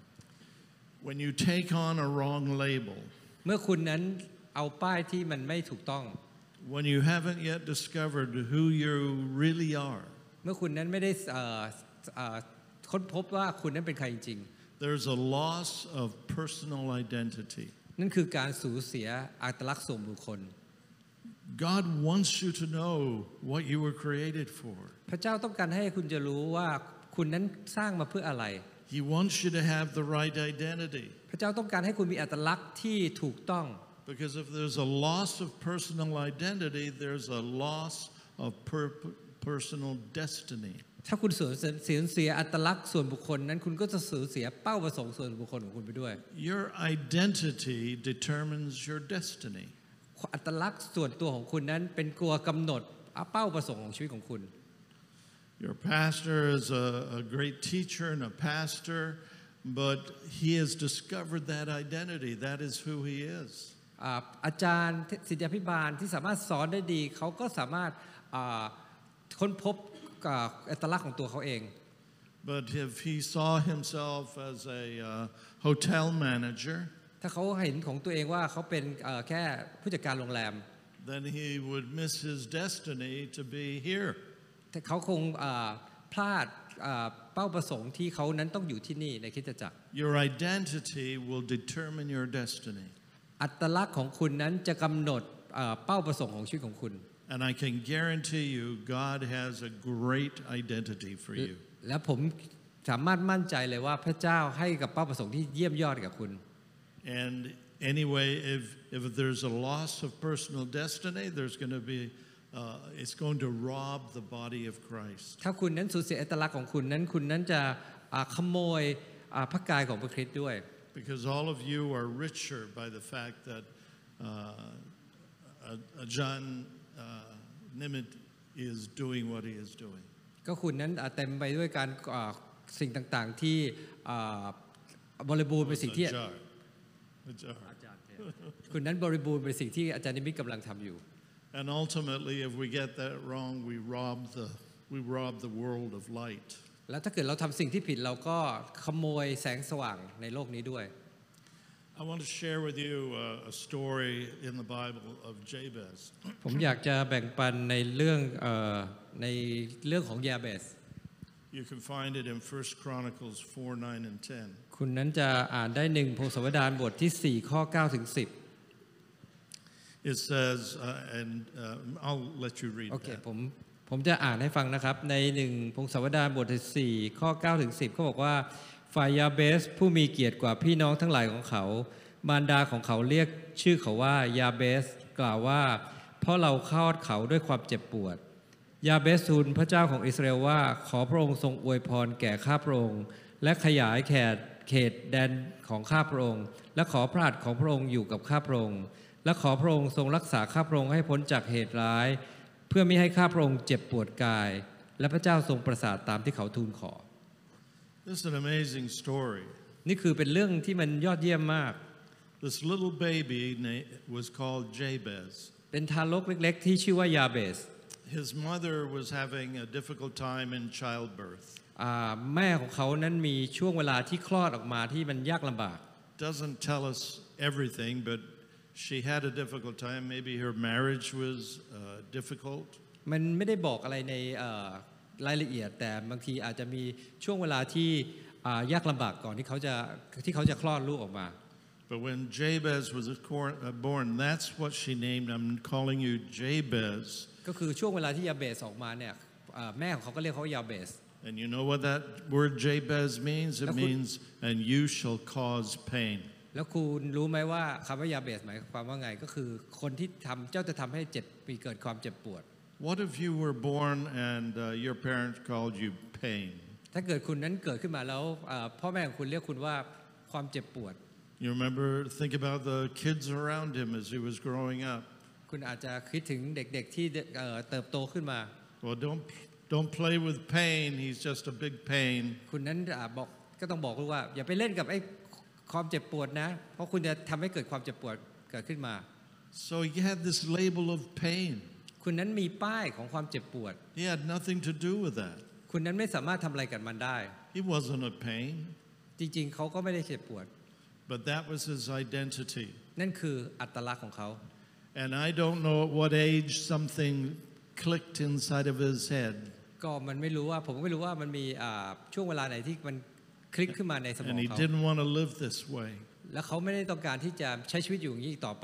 When you take on a wrong label, เมื่อคุณนั้นเอาป้ายที่มันไม่ถูกต้อง when you haven't yet discovered who you really are, เมื่อคุณนั้นไม่ได้เอ่อเอ่อค้นพบว่าคุณนั้นเป็นใครจริง there's a loss of personal identity. ๆนั่นคือการสูญเสียอัตลักษณ์ส่วนบุคคล God wants you to know what you were created for. พระเจ้าต้องการให้คุณจะรู้ว่าคุณนั้นสร้างมาเพื่ออะไร He wants you to have the right identity. พระเจ้าต้องการให้คุณมีอัตลักษณ์ที่ถูกต้อง Because if there's a loss of personal identity, there's a loss of per- personal destiny. ถ้าคุณสูญเสียสูญเสียอัตลักษณ์ส่วนบุคคลนั้นคุณก็จะสูญเสียเป้าประสงค์ส่วนบุคคลของคุณไปด้วย Your identity determines your destiny. อัตลักษณ์ส่วนตัวของคุณนั้นเป็นตัวกำหนดเป้าประสงค์ของชีวิตของคุณ Your pastor is a, a great teacher and a pastor, but he has discovered that identity. That is who he is. อ่าอาจารย์ศิษยาภิบาลที่สามารถสอนได้ดีเขาก็สามารถอ่าค้นพบอ่าอัตลักษณ์ของตัวเขาเอง But if he saw himself as a uh, hotel manager, ถ้าเขาเห็นของตัวเองว่าเขาเป็นเอ่อแค่ผู้จัดการโรงแรม then he would miss his destiny to be here. แต่เขาคงอ่าพลาดอ่าเป้าประสงค์ที่เขานั้นต้องอยู่ที่นี่ในคริสตจักร Your identity will determine your destiny. อัตลักษณ์ของคุณนั้นจะกำหนดอ่าเป้าประสงค์ของชีวิตของคุณ And I can guarantee you, God has a great identity for you. และผมสามารถมั่นใจเลยว่าพระเจ้าให้กับเป้าประสงค์ที่เยี่ยมยอดกับคุณ And anyway, if, if there's a loss of personal destiny, there's going to be, uh, it's going to rob the body of Christ. ถ้าคุณนั้นสูญเสียอัตลักษณ์ของคุณนั้นคุณนั้นจะอ่าขโมยอ่าพระกายของพระคริสต์ด้วย Because all of you are richer by the fact that uh, uh, John uh, Nimitz is doing what he is doing. ก็คุณนั้นอ่าเต็มไปด้วยการอ่าสิ่งต่างๆที่อ่าบริบูรณ์เป็นสิ่งที่ A jar. A jar. คุณนั้นบริบูรณ์เป็นสิ่งที่อาจารย์นิมิตกำลังทำอยู่ And ultimately, if we get that wrong, we rob the, we rob the world of light. แล้วถ้าเกิดเราทำสิ่งที่ผิดเราก็ขโมยแสงสว่างในโลกนี้ด้วย I want to share with you a, a story in the Bible of Jabez. ผมอยากจะแบ่งปันในเรื่องเอ่อในเรื่องของยาเบส You can find it in First Chronicles four, nine, and ten. คุณนั้นจะอ่านได้หนึ่งพงศาวดารบทที่สี่ข้อเก้าถึงสิบ It says, uh, and uh, I'll let you read โอเค that. ผมผมจะอ่านให้ฟังนะครับในหนึ่งพงศาวดารบทที่สี่ข้อเก้าถึงสิบเขาบอกว่าฝ่ายยาเบสผู้มีเกียรติกว่าพี่น้องทั้งหลายของเขามารดาของเขาเรียกชื่อเขาว่ายาเบสกล่าวว่าเพราะเราคลอดเขาด้วยความเจ็บปวดยาเบสทูลพระเจ้าของอิสราเอลว่าขอพระองค์ทรงอวยพรแก่ข้าพระองค์และขยายแขตเขตแดนของข้าพระองค์และขอพระหัตถ์ของพระองค์อยู่กับข้าพระองค์และขอพระองค์ทรงรักษาข้าพระองค์ให้พ้นจากเหตุร้ายเพื่อไม่ให้ข้าพระองค์เจ็บปวดกายและพระเจ้าทรงประสาทตามที่เขาทูลขอ This is an amazing story. นี่คือเป็นเรื่องที่มันยอดเยี่ยมมาก This little baby was called Jabez. เป็นทารกเล็กๆที่ชื่อว่ายาเบส His mother was having a difficult time in childbirth. อ่าแม่ของเขานั้นมีช่วงเวลาที่คลอดออกมาที่มันยากลำบาก Doesn't tell us everything, but she had a difficult time. Maybe her marriage was uh, difficult. มันไม่ได้บอกอะไรในเอ่อรายละเอียดแต่บางทีอาจจะมีช่วงเวลาที่อ่ายากลำบากก่อนที่เขาจะที่เขาจะคลอดลูกออกมา But when Jabez was born, that's what she named. I'm calling you Jabez. ก็คือช่วงเวลาที่ยาเบสออกมาเนี่ยแม่ของเขาก็เรียกเขายาเบส And you know what that word Jabez means? It means, and you shall cause pain. แล้วคุณรู้ไหมว่าคำว่ายาเบสหมายความว่าไงก็คือคนที่ทำเจ้าจะทำให้เจ็บปีเกิดความเจ็บปวด What if you were born and uh, your parents called you pain? ถ้าเกิดคุณนั้นเกิดขึ้นมาแล้วพ่อแม่ของคุณเรียกคุณว่าความเจ็บปวด You remember, think about the kids around him as he was growing up. คุณอาจจะคิดถึงเด็กๆที่เติบโตขึ้นมา Well, don't don't play with pain. He's just a big pain. คุณนั้นบอกก็ต้องบอกลูกว่าอย่าไปเล่นกับไอ้ความเจ็บปวดนะเพราะคุณจะทำให้เกิดความเจ็บปวดเกิดขึ้นมา So he had this label of pain. คุณนั้นมีป้ายของความเจ็บปวด He had nothing to do with that. คุณนั้นไม่สามารถทำอะไรกับมันได้ He wasn't a pain. จริงๆเขาก็ไม่ได้เจ็บปวด But that was his identity. นั่นคืออัตลักษณ์ของเขา And I don't know at what age something clicked inside of his head. ก็มันไม่รู้ว่าผมก็ไม่รู้ว่ามันมีช่วงเวลาไหนที่มันคลิกขึ้นมาในสมอง And he เขา didn't want to live this way. แล้วเขาไม่ได้ต้องการที่จะใช้ชีวิตอยู่อย่างนี้อีกต่อไป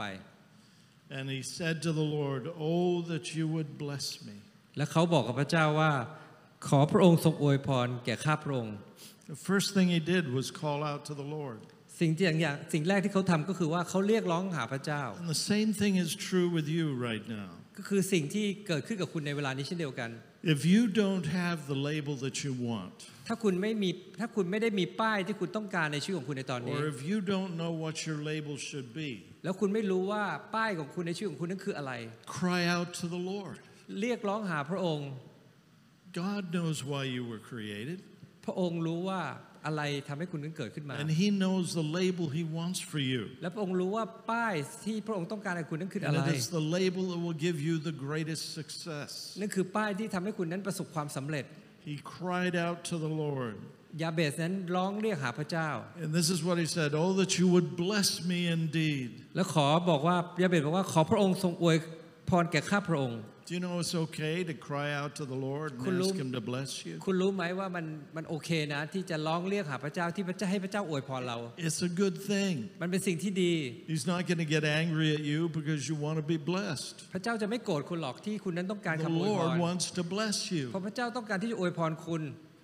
And he said to the Lord, "Oh, that you would bless me." และเขาบอกกับพระเจ้าว่าขอพระองค์ทรงอวยพรแก่ข้าพระองค์ The first thing he did was call out to the Lord. สิ่งที่อย่างอย่างสิ่งแรกที่เขาทำก็คือว่าเขาเรียกร้องหาพระเจ้า And the same thing is true with you right now. ก็คือสิ่งที่เกิดขึ้นกับคุณในเวลานี้เช่นเดียวกัน If you don't have the label that you want, ถ้าคุณไม่มีถ้าคุณไม่ได้มีป้ายที่คุณต้องการในชีวิตของคุณในตอนนี้ or if you don't know what your label should be, แล้วคุณไม่รู้ว่าป้ายของคุณในชีวิตของคุณนั้นคืออะไร cry out to the Lord. เรียกร้องหาพระองค์ God knows why you were created. พระองค์รู้ว่าอะไรทำให้คุณนั้นเกิดขึ้นมา And he knows the label he wants for you. และพระองค์รู้ว่าป้ายที่พระองค์ต้องการให้คุณนั้นคืออะ And ไร it is the label that will give you the greatest success. นั่นคือป้ายที่ทำให้คุณนั้นประสบความสำเร็จ He cried out to the Lord. ยาเบสนั้นร้องเรียกหาพระเจ้า And this is what he said, "Oh, that you would bless me indeed." แล้วขอบอกว่ายาเบสบอกว่าขอพระองค์ทรงอวยพรแก่ข้าพระองค์ Do you know it's okay to cry out to the Lord and ask him to bless you? คุณรู้ไหมว่ามันมันโอเคนะที่จะร้องเรียกหาพระเจ้าที่พระเจ้าให้พระเจ้าอวยพรเรา It's a good thing. มันเป็นสิ่งที่ดี He's not going to get angry at you because you want to be blessed. พระเจ้าจะไม่โกรธคุณหรอกที่คุณนั้นต้องการ The คำอวยพ Lord ร wants to bless เพราะ you. พระเจ้าต้องการที่จะอวยพรคุณ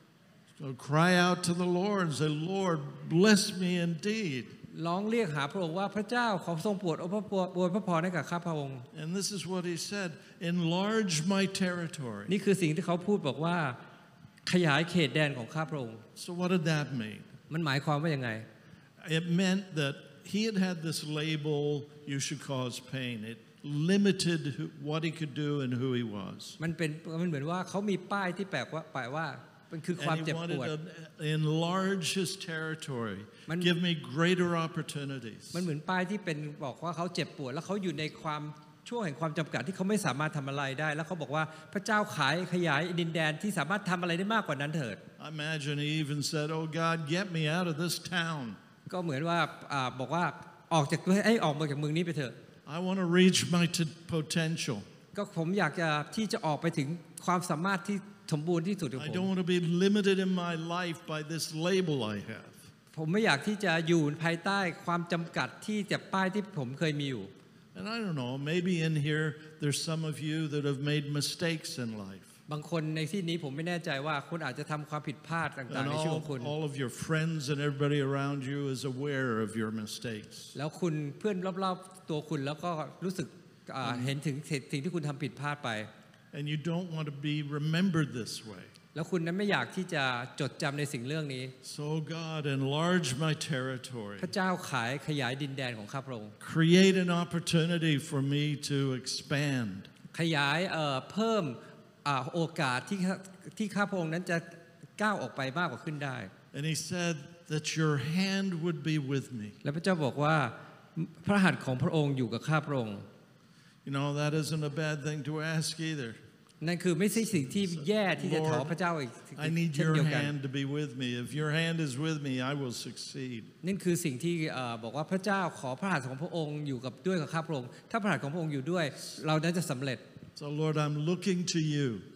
So cry out to the Lord and say, "Lord, bless me indeed." ร้องเรียกหาพระองค์ว่าพระเจ้าขอทรงโปรดอวยพระพรอวยพระพรให้กับข้าพระองค์ And this is what he said, "Enlarge my territory." นี่คือสิ่งที่เขาพูดบอกว่าขยายเขตแดนของข้าพระองค์ So what did that mean? มันหมายความว่ายังไง It meant that he had had this label, "You should cause pain." It limited who- what he could do and who he was. มันเป็นมันเหมือนว่าเขามีป้ายที่แปลว่าแปลว่ามันคือความ And he เจ็บป wanted วด to enlarge his territory, Man- give me greater opportunities. มันเหมือนป้ายที่เป็นบอกว่าเขาเจ็บปวดแล้วเขาอยู่ในความช่วงแห่งความจำกัดที่เขาไม่สามารถทำอะไรได้ แล้วเขาบอกว่าพระเจ้าขายขยายดินแดนที่สามารถทำอะไรได้มากกว่านั้นเถิด I imagine he even said, "Oh God, get me out of this town. ก็เหมือนว่าอ่าบอกว่าออกจากไอ้ออกมาจากเมืองนี้ไปเถอะ I want to reach my t- potential. ก็ผมอยากจะที่จะออกไปถึงความสามารถที่สมบูรณ์ที่สุดของ I ผม don't want to be limited in my life by this label I have." ผมไม่อยากที่จะอยู่ภายใต้ความจำกัดที่จะป้ายที่ผมเคยมีอยู่ And I don't know, maybe in here there's some of you that have made mistakes in life. บางคนในที่นี้ผมไม่แน่ใจว่าคุณอาจจะทำความผิดพลาดต่าง And ๆในชีวิตของ all, คุณ all of your friends and everybody around you is aware of your mistakes. แล้วคุณเพื่อนรอบๆตัวคุณแล้วก็รู้สึกอ่าเห็นถึงสิ่งที่คุณทำผิดพลาดไป And you don't want to be remembered this way. แล้วคุณนั้นไม่อยากที่จะจดจำในสิ่งเรื่องนี้ So God, enlarge my territory. พระเจ้าขายขยายดินแดนของข้าพระองค์ Create an opportunity for me to expand. ขยายเอ่อเพิ่มอ่าโอกาสที่ที่ข้าพระองค์นั้นจะก้าวออกไปมากกว่าขึ้นได้ And he said that your hand would be with me. และพระเจ้าบอกว่าพระหัตถ์ของพระองค์อยู่กับข้าพระองค์ You know, that isn't a bad thing to ask either. นั่นคือไม่ใช่สิ่งที่แย่ที่จะขอพระเจ้าอีก I need เช่น your เดียวกัน hand to be with me. If your hand is with me, I will succeed. นั่นคือสิ่งที่เอ่อบอกว่าพระเจ้าขอพระหัตถ์ของพระองค์อยู่กับด้วยกับข้าพระองค์ถ้าพระหัตถ์ของพระองค์อยู่ด้วยเรานั้นจะสำเร็จ So Lord, I'm looking to you.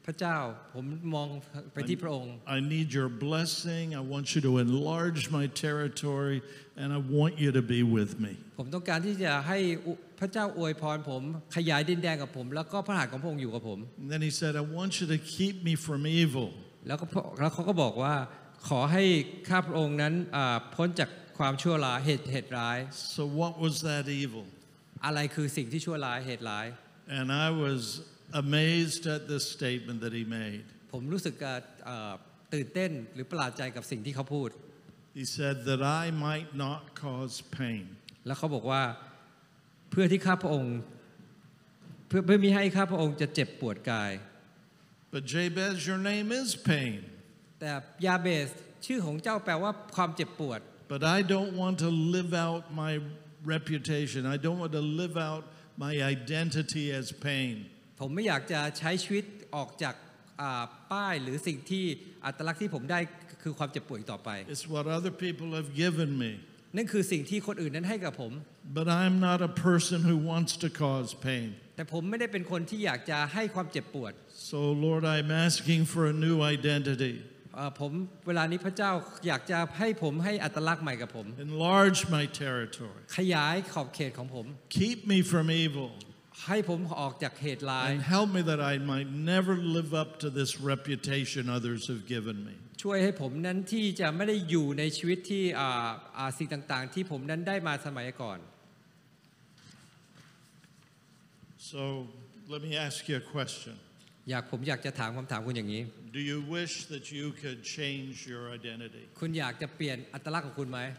พระเจ้าผมมองไปที่พระองค์ I need your blessing. I want you to enlarge my territory, and I want you to be with me. ผมต้องการที่จะให้พระเจ้าอวยพรผมขยายดินแดนกับผมแล้วก็พระหัตถ์ของพระองค์อยู่กับผม And then he said, I want you to keep me from evil. แล้วก็แล้วเขาก็บอกว่าขอให้ข้าพระองค์นั้นพ้นจากความชั่วร้ายเหตุเหตุร้าย So what was that evil? อะไรคือสิ่งที่ชั่วร้ายเหตุร้าย And I was amazed at this statement that he made. ผมรู้สึกตื่นเต้นหรือประหลาดใจกับสิ่งที่เขาพูด He said that I might not cause pain. แล้วเขาบอกว่าเพื่อที่ข้าพระองค์เพื่อเพื่อมิให้ข้าพระองค์จะเจ็บปวดกาย But Jabez, your name is pain. แต่ยาเบสชื่อของเจ้าแปลว่าความเจ็บปวด But I don't want to live out my reputation. I don't want to live out my identity as pain. ผมไม่อยากจะใช้ชีวิตออกจากป้ายหรือสิ่งที่อัตลักษณ์ที่ผมได้คือความเจ็บปวดต่อไป It's what other people have given me. นั่นคือสิ่งที่คนอื่นนั้นให้กับผม But I'm not a person who wants to cause pain. แต่ผมไม่ได้เป็นคนที่อยากจะให้ความเจ็บปวด So Lord, I'm asking for a new identity. ผมเวลานี้พระเจ้าอยากจะให้ผมให้อัตลักษณ์ใหม่กับผม Enlarge my territory. ขยายขอบเขตของผม Keep me from evil. ให้ผมออกจากเหตุร้าย And help me that I might never live up to this reputation others have given me. ช่วยให้ผมนั้นที่จะไม่ได้อยู่ในชีวิตที่สิ่งต่างๆที่ผมนั้นได้มาสมัยก่อน So let me ask you a question. อยากผมอยากจะถามคำถามคุณอย่างนี้ Do you wish that you could change your identity? คุณอยากจะเปลี่ยนอัตลักษณ์ของคุณไหม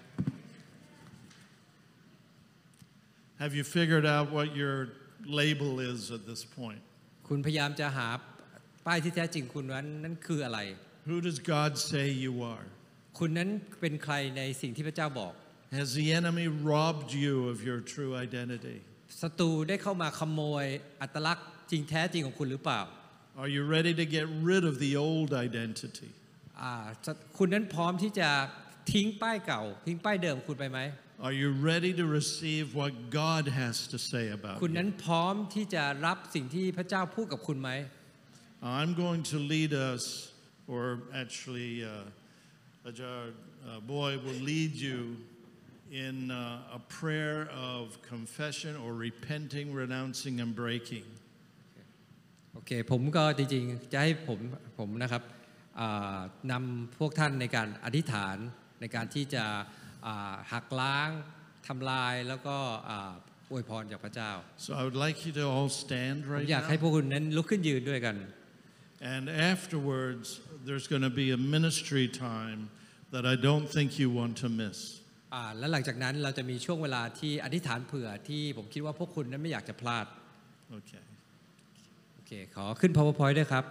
Have you figured out what your label is at this point? คุณพยายามจะหาป้ายที่แท้จริงคุณนั้นนั่นคืออะไร Who does God say you are? คุณนั้นเป็นใครในสิ่งที่พระเจ้าบอก Has the enemy robbed you of your true identity? ศัตรูได้เข้ามาขโมยอัตลักษณ์จริงแท้จริงของคุณหรือเปล่า Are you ready to get rid of the old identity? คุณนั้นพร้อมที่จะทิ้งป้ายเก่าทิ้งป้ายเดิมคุณไปไหม Are you ready to receive what God has to say about คุณนั้น you? พร้อมที่จะรับสิ่งที่พระเจ้าพูดกับคุณไหม I'm going to lead us, or actually uh, Ajar uh, Boy will lead you in uh, a prayer of confession or repenting, renouncing, and breaking. โอเคผมก็จริงๆจะให้ผมผมนะครับนำพวกท่านในการอธิษฐานในการที่จะหักล้างทำลายแล้วก็อวยพรจากพระเจ้า So I would like you to all stand ผม right อยากให้ now. พวกคุณนั้นลุกขึ้นยืนด้วยกัน And afterwards, there's going to be a ministry time that I don't think you want to miss. และหลังจากนั้นเราจะมีช่วงเวลาที่อธิษฐานเผื่อที่ผมคิดว่าพวกคุณนั้นไม่อยากจะพลาด Okay. โอเคขอขึ้น PowerPoint ด้วยครับ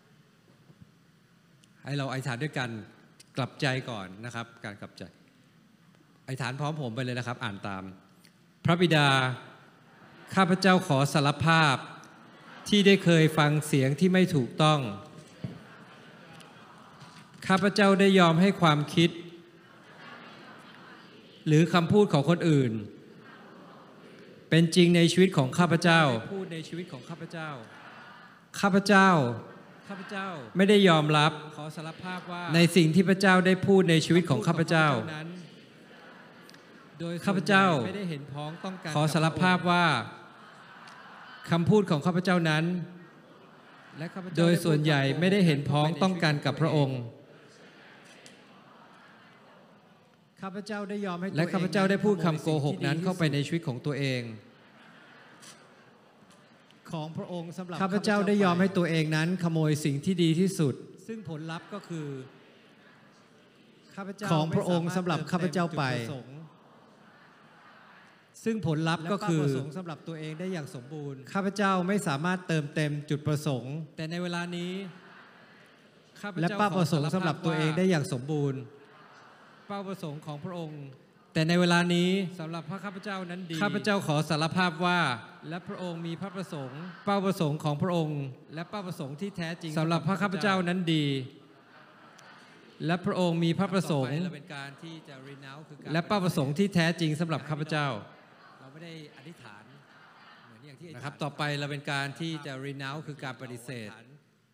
ให้เราอธิษฐานด้วยกันกลับใจก่อนนะครับการกลับใจอธิษฐานพร้อมผมไปเลยนะครับอ่านตามพระบิดาข้าพเจ้าขอสารภาพที่ได้เคยฟังเสียงที่ไม่ถูกต้องข้าพเจ้าได้ยอมให้ความคิดหรือคำพูดของคนอื่นเป็นจริงในชีวิตของข้าพเจ้าพูดในชีวิตของข้าพเจ้าข้าพเจ้าข้าพเจ้าไม่ได้ยอมรับขอสารภาพว่าในสิ่งที่พระเจ้าได้พูดในชีวิตของข้าพเจ้าโดยข้าพเจ้าไม่ได้เห็นพ้องต้องการขอสารภาพว่าคำพูดของข้าพเจ้านั้นโดยส่วนใหญ่ไม่ได้เห็นพ้องต้องการกับพระองค์ข้าพเจ้าได้ยอมให้และข้าพเจ้าได้พูดคำโกหกนั้นเข้าไปในชีวิตของตัวเองของพระองค์สำหรับข้าพเจ้าได้ยอมให้ตัวเองนั้นขโมยสิ่งที่ดีที่สุดซึ่งผลลัพธ์ก็คือของพระองค์สำหรับข้าพเจ้าไปซึ่งผลลัพธ์ก็คือสำหรับตัวเองได้อย่างสมบูรณ์ข้าพเจ้าไม่สามารถเติมเต็มจุดประสงค์แต่ในเวลานี้และเป้าประสงค์สำหรับตัวเองได้อย่างสมบูรณ์เป้าประสงค์ของพระองค์แต่ในเวลานี้สำหรับพระข้าพเจ้านั้นดีข้าพเจ้าขอสารภาพว่าและพระองค์มีพระประสงค์เป้าประสงค์ของพระองค์และเป้าประสงค์ที่แท้จริงสำหรับพระข้าพเจ้านั้นดีและพระองค์มีพระประสงค์และเป้าประสงค์ที่แท้จริงสำหรับข้าพเจ้าเราไม่ได้อธิษฐานเหมือนอย่างที่นะครับต่อไปเราเป็นการที่จะ renounce คือการปฏิเสธ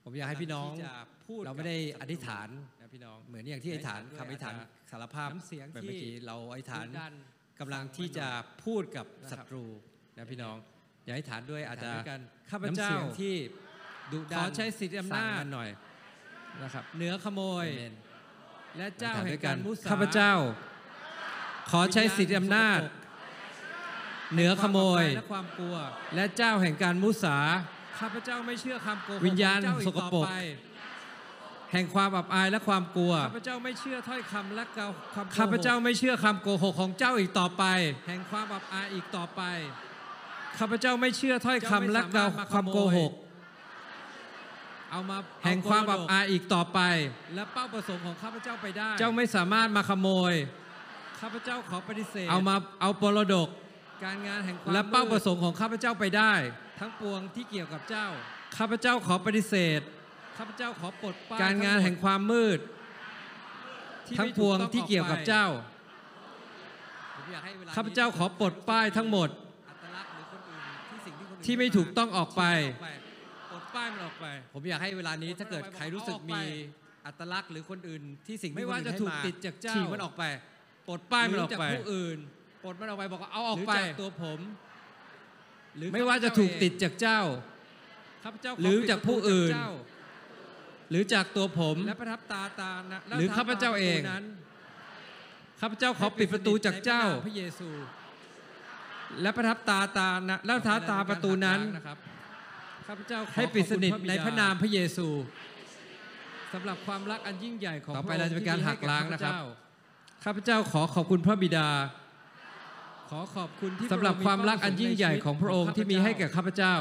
ผมอยากให้พี่น้องที่จะพูดเราไม่ได้กับอธิษฐานนะพี่น้องเหมือนอย่างที่อธิษฐานด้วยคำอธิษฐานอาจจะสารภาพน้ำเสียงแบบที่เมื่อกี้เราอธิษฐานดุดันกำลังที่จะพูดกับศัตรูนะพี่น้องอย่าอธิษฐานด้วยอาจจะอธิษฐานด้วยกันข้าพน้ำเจ้าเสียงที่ดุดันขอใช้สิทธิอำนาจสั่งมันหน่อยนะครับเหนือขโมยอาเมนและเจ้าอธิษฐานแห่ด้งวยกักาน รมุสาข้าพเจ้า ขอใช้สิทธิอำนาจ เหนือขโมยและความกลัวและเจ้าแห่งการมุสาข้าพเจ้าไม่เชื่อคำโกหกวิญญาณของเจ้าอีสกปรกต่อไปแห่งความอับอายและความกลัวข้าพเจ้าไม่เชื่อถ้อยคำและคำโกหกข้าพเจ้าไม่เชื่อคำโกหกของเจ้าอีกต่อไปแห่งความอับอายอีกต่อไปข้าพเจ้าไม่เชื่อถ้อยคำและความโกหกเอามาแห่งความอับอายอีกต่อไปและเป้าประสงค์ของข้าพเจ้าไปได้เจ้าไม่สามารถมาขโมยข้าพเจ้าขอปฏิเสธเอามาเอาปรดกการงานแห่งความและเป้าประสมืงค์ของข้าพเจ้าไปได้ดทั้งปวงที่เกี่ยวกับเจ้าข้าพเจ้าขอปฏิเสธข้าพเจ้าขอปลดป้ายการงานแห่งความมืดที่ทั้งไม่ปถูวงต้องที่เกี่ยวกับออไปเจ้าผมอยากให้วลข้าพเจ้าขอปลดป้ายทั้งหมดอัตลักษณ์หรือคนอื่นที่สิ่งที่คนอื่นที่ไม่ถูกต้องออกไปปลดป้ายมันออกไปผมอยากให้เวลานี้ถ้าเกิดใครรู้สึกมีอัตลักษณ์หรือคนอื่นที่สิ่งที่ไม่ว่าคนอื่นจะให้ถูกมติดจากเจ้าฉีกมันออกไปปลดป้ายมันออกไปหรืจากผู้อื่นปลดมันออกไปบอกว่าเอาออกหรือไปจากตัวผมหรือไม่ว่าจะถูกติดจากเจ้าข้าพเจ้าขหรือจากผู้อื่นปิดประตูจากเจ้าหรือจากตัวผมและประทับตาตานะและหรือข้าพเจ้าเองประตูนั้นข้าพเจ้าขอปิดประตูจากเจ้าในพระนมพระเยซูและประทับตาตานะแล้วท้าตาประตูนั้นนะครับข้าพเจ้าขอให้ปิดสนิทขอบคุณในพระนามพระเยซูสำหรับความรักอันยิ่งใหญ่ของต่อไปพะเรางค์จะเป็นการที่มีหักล้างนะครับให้แก่ข้าพเจ้าขอขอบคุณพระบิดาขอขอบคุณที่สำหรับความรักอันยิ่งใหญ่ของพระองค์ที่มีให้แก่ข้าพเจ้า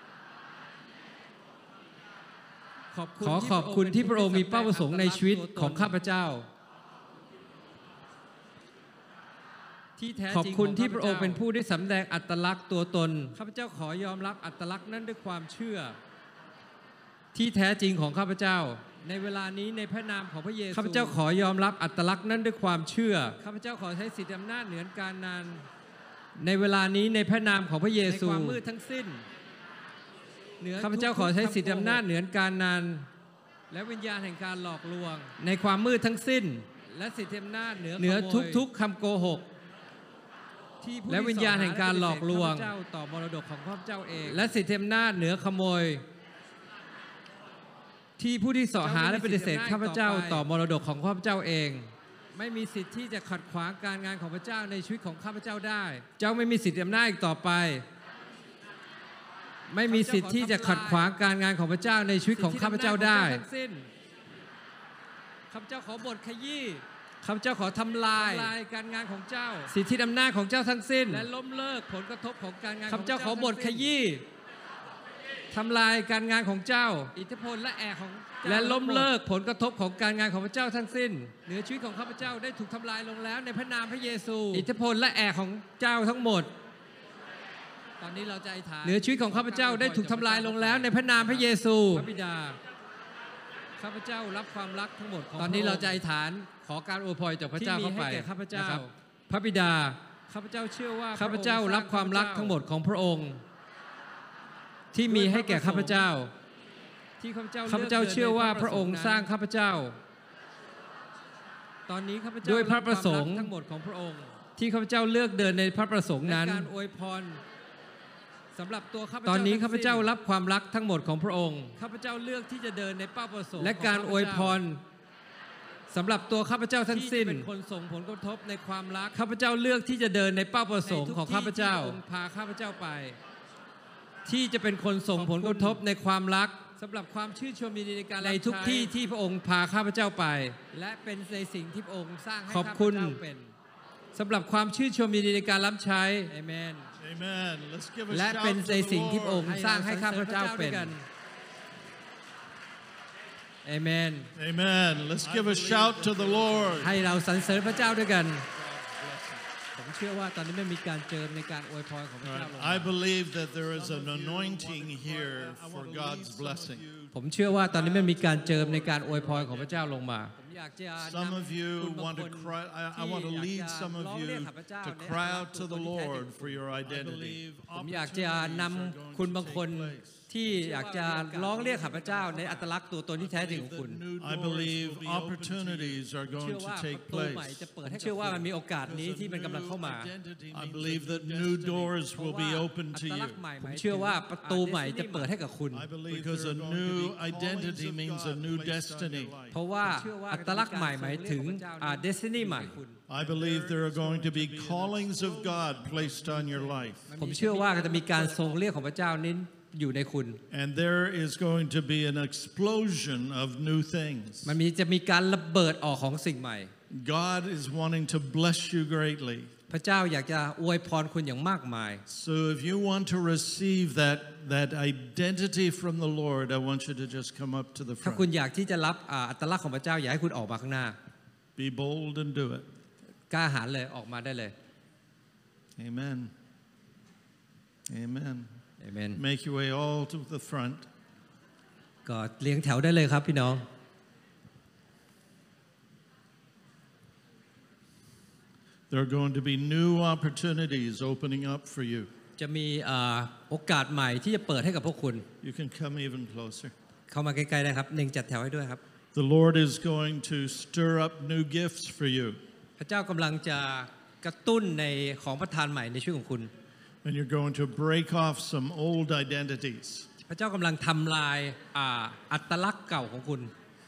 ขอบขอขอบคุณที่พระองค์มีเป้าประสงค์ในชีวิตของข้าพเจ้าที่แท้ขอบจริงคุณขที่พระองค์เป็นผู้ได้สำแดงอัตลักษณ์ตัวตนข้าพเจ้าขอยอมรับอัตลักษณ์นั้นด้วยความเชื่อที่แท้จริงของข้าพเจ้าในเวลานี้ในพระนามของพระเยซูข้าพเจ้าขอยอมรับอัตลักษณ์นั้นด้วยความเชื่อข้าพเจ้าขอใช้สิทธิอำนาจเหนือการนานในเวลานี้ในพระนามของพระเยในซูความมืดทั้งสิ้นเหนือข้าพเจ้าขอใช้สิทธิอำนาจเหนือการนานและวิญญาณแห่งการหลอกลวงในความมืดทั้งสิ้นและสิทธิอำนาจเหนือเหนือขโมยทุกๆคำโกหกที่ผู้และวิญญาณแห่งการหลอกลวงข้าพเจ้าต่อมรดกของข้าพเจ้าเองและสิทธิอำนาจเหนือขโมย ที่ผู้ที่เสาะหาและปฏิเสธข้าพเจ้าต่อมรดกของข้าพเจ้าเองไม่มีสิทธิ์ที่จะขัดขวางการงานของพระเจ้าในชีวิตของข้าพเจ้าได้เจ้าไม่มีสิทธิอำนาจอีกต่อไป ไม่มีสิทธิ์ที่จะขัดขวางการงานของพระเจ้าในชีวิตของข้าพเจ้าได้สิทธิอำนาจของเจ้าทั้งสิ้นข้าพเจ้าขอบทขยี้ข้าพเจ้าขอทำลายทำลายการงานของเจ้าสิทธิอำนาจของเจ้าทั้งสิ้นและล้มเลิกผลกระทบของการงานข้าพเจ้าขอบทขทั้งสิ้นยี้ทำลายการงานของเจ้าอิทธิพลและแอกของเจ้าและล้มเลิกผลกระทบของการงานของพระเจ้าทั้งสิ้นเหนือชีวิตของข้าพเจ้าได้ถูกทำลายลงแล้วในพระนามพระเยซูอิทธิพลและแอกของเจ้าทั้งหมดตอนนี้เราจะอธิษฐานเหนือชีวิตของข้าพเจ้าได้ถูกทำลายลงแล้วในพระนามพระเยซูพระบิดาข้าพเจ้ารับความรักทั้งหมดของตอนนี้พะเรางค์จะอธิษฐานขอการอวยพรจากพระเจ้าที่มีเข้าไปให้แก่ข้าพเจ้านะครับพระบิดาข้าพเจ้าเชื่อว่าข้าพเจ้าพะองค์รับความรักสงทั้งหมดของพระองค์ ที่มีให้แก่ข้าพเจ้าที่ข้าพเจ้าข้าพเจ้าเชื่อว่าพระองค์สร้างข้าพเจ้าตอนนี้ข้าพเจ้าด้วยพระประสงค์บความกทั้งหมดของพระองค์ที่ข้าพเจ้าเลือกเดินในพระประสงค์และนั้นการอวยพรสำหรับตัวข้าพเจ้าตอนนี้ทั้งข้าพเจ้าสิ้นรับความรักทั้งหมดของพระองค์ข้าพเจ้าเลือกที่จะเดินในเป้าประสงค์และของการข้พอเจ้วยพรสำหรับตัวข้าพเจ้าทั้งที่สิ้จะนเป็นคนส่งผลกระทบในความรักข้าพเจ้าเลือกที่จะเดินในเป้าประสงค์ของข้าพเจ้าในทุกที่ที่พระองค์พาข้าพเจ้าไปที่จะเป็นคนส่งผลกระทบในความรักสำหรับความชื่นชมยินดีในการในรับทุกใช้ที่ที่พระองค์พาข้าพเจ้าไปและเป็นในสิ่งที่พระองค์สร้างให้ขอบคุณข้าพเจ้าเป็นสำหรับความชื่นชมยินดีในการรับใช้เอเมน Amen. Let's give a และ shout เป็น to ใน the สิ่งที่พระอง Lord. ค์สร้างให้ข้าพเจ้าเป็น เอเมน Amen. Let's give a shout to the Lord. ให้เราสรรเสริญพระเจ้าด้วยกันผมเชื่อว่าตอนนี้ไม่มีการเจิมในการอวยพรของพระเจ้าลงมา I believe that there is an anointing here for God's blessing. ผมเชื่อว่าตอนนี้มันมีการเจิมในการอวยพรของพระเจ้าลงมาผมอยากจะ Some นำ of you คุณบาง want ค to น cry. I, I ที่ want to อยาก lead จะ some ร้ of องเรียก you ข้าพเจ้า to ใน cry ฐานะ out to the ตัวตนที่แท้จริง Lord for your identity. ผมอยากจะนำคุณบางคนที่อยากจะร้องเรียกข้าพเจ้าในอัตลักษณ์ตัวตนที่แท้จริงของคุณ I believe opportunities are เชื่ going อ to ว่า take ประตูใหม่ place. จะเปิดให้เชื่อว่ามันมีโอกาสนี้ที่มันกำลังเข้ามา I believe that new doors will be open อั to ตลั you. กษณ์ใหม่ผมเชื่อว่าประตูใหม่จะเปิดให้กับคุณ Because a new identity means a new destiny. เพราะว่าอัตลักษณ์ใหม่หมายถึงอ่า destiny ใหม่ I believe there are going to be callings of God placed on your life. ผมเชื่อว่าจะมีการทรงเรียกของพระเจ้านี้อยู่ในคุณ And there is going to be an explosion of new things. มันมีจะมีการระเบิดออกของสิ่งใหม่ God is wanting to bless you greatly. พระเจ้าอยากจะอวยพรคุณอย่างมากมาย So if you want to receive that that identity from the Lord, I want you to just come up to the ถ้าคุณ front. อยากที่จะรับอ่าอัตลักษณ์ของพระเจ้าอยากให้คุณออกมาข้างหน้า Be bold and do it. กล้าหาญเลยออกมาได้เลย Amen. Amen. เอเมน Make your way all to the front. ก็เลี้ยงแถวได้เลยครับพี่น้อง There are going to be new opportunities opening up for you. จะมีอ่าโอกาสใหม่ที่จะเปิดให้กับพวกคุณ You can come even closer. เข้ามาใกล้ๆได้ครับหนึ่งจัดแถวให้ด้วยครับ The Lord is going to stir up new gifts for you. พระเจ้ากำลังจะกระตุ้นในของประทานใหม่ในชีวิตของคุณ And you're going to break off some old identities. พระเจ้ากำลังทำลายอ่าอัตลักษณ์เก่าของคุณ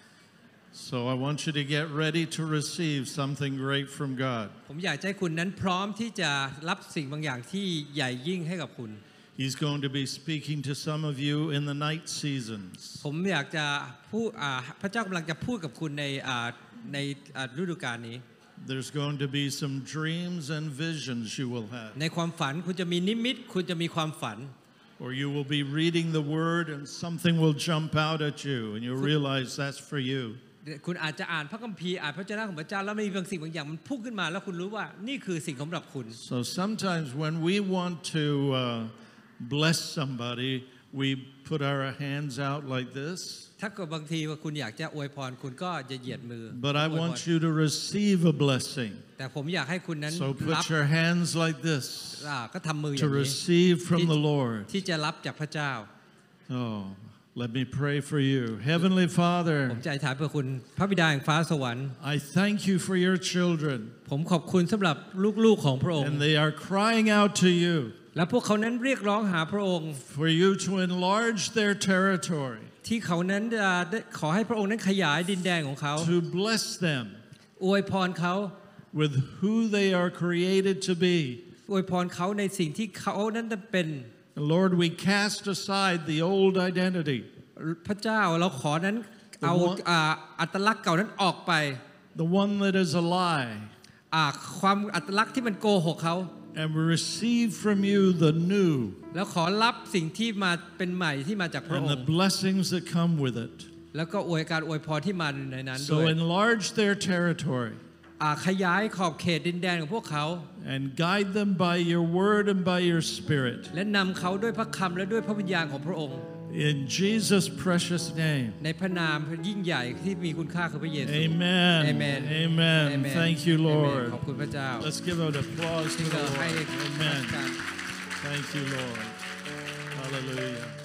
So I want you to get ready to receive something great from God. ผมอยากให้คุณนั้นพร้อมที่จะรับสิ่งบางอย่างที่ใหญ่ยิ่งให้กับคุณ He's going to be speaking to some of you in the night seasons. ผมอยากจะพูดอ่าพระเจ้ากำลังจะพูดกับคุณในอ่าในอ่าฤดูกาลนี้ There's going to be some dreams and visions you will have. ในความฝันคุณจะมีนิมิตคุณจะมีความฝัน Or you will be reading the word and something will jump out at you and you'll realize that's for you. คุณอาจจะอ่านพระคัมภีร์อ่านพระเจ้าของพระเจ้าแล้วมีบางสิ่งบางอย่างมันพุ่งขึ้นมาแล้วคุณรู้ว่านี่คือสิ่งสำหรับคุณ So sometimes when we want to uh, bless somebody, we put our hands out like this. ถ้าเกิดบางทีว่าคุณอยากจะอวยพรคุณก็จะเหยียดมือ But I want you to receive a blessing. แต่ผมอยากให้คุณนั้น So รับ put your hands like this อ่าก็ทำมืออ to ย่างนี้ receive from the Lord. ที่จะรับจากพระเจ้า Oh, let me pray for you. Heavenly ผ Father, มจะอธิษฐานเพื่อคุณพระบิดาแห่งฟ้าสวรรค์ I thank you for your children. ผมขอบคุณสำหรับลูกๆของพระองค์ And they are crying out to you และพวกเขานั้นเรียกร้องหาพระองค์ for you to enlarge their territory, ที่เขานั้นจะได้ขอให้พระองค์นั้นขยายดินแดนของเขา to bless them อวยพรเขา with who they are created to be. อวยพรเขาในสิ่งที่เขานั้นจะเป็น And Lord, we cast aside the old identity, พระเจ้าเราขอนั้นเอาอ่าอัตลักษณ์เก่านั้นออกไป the one that is a lie, อ่าความอัตลักษณ์ที่มันโกหกเขา and we receive from you the new แล้วขอรับสิ่งที่มาเป็นใหม่ที่มาจากพระ and อง the ค์ blessings that come with it. แล้วก็อวยการอวยพรที่มาในนั้นด้ So วย enlarge their territory อ่าขยายขอบเขตดินแดนของพวกเขา and guide them by your word and by your spirit. และนำเขาด้วยพระคำและด้วยพระวิญญาณของพระองค์ In Jesus' precious name. ในพระนามยิ่งใหญ่ที่มีคุณค่าคือพระเยซู Amen. Amen. Amen. Amen. Thank you, Amen. Lord. ขอบคุณพระเจ้า Let's give an applause to ที่ the เราให้ Lord. Amen. การ Thank you, Lord. Hallelujah.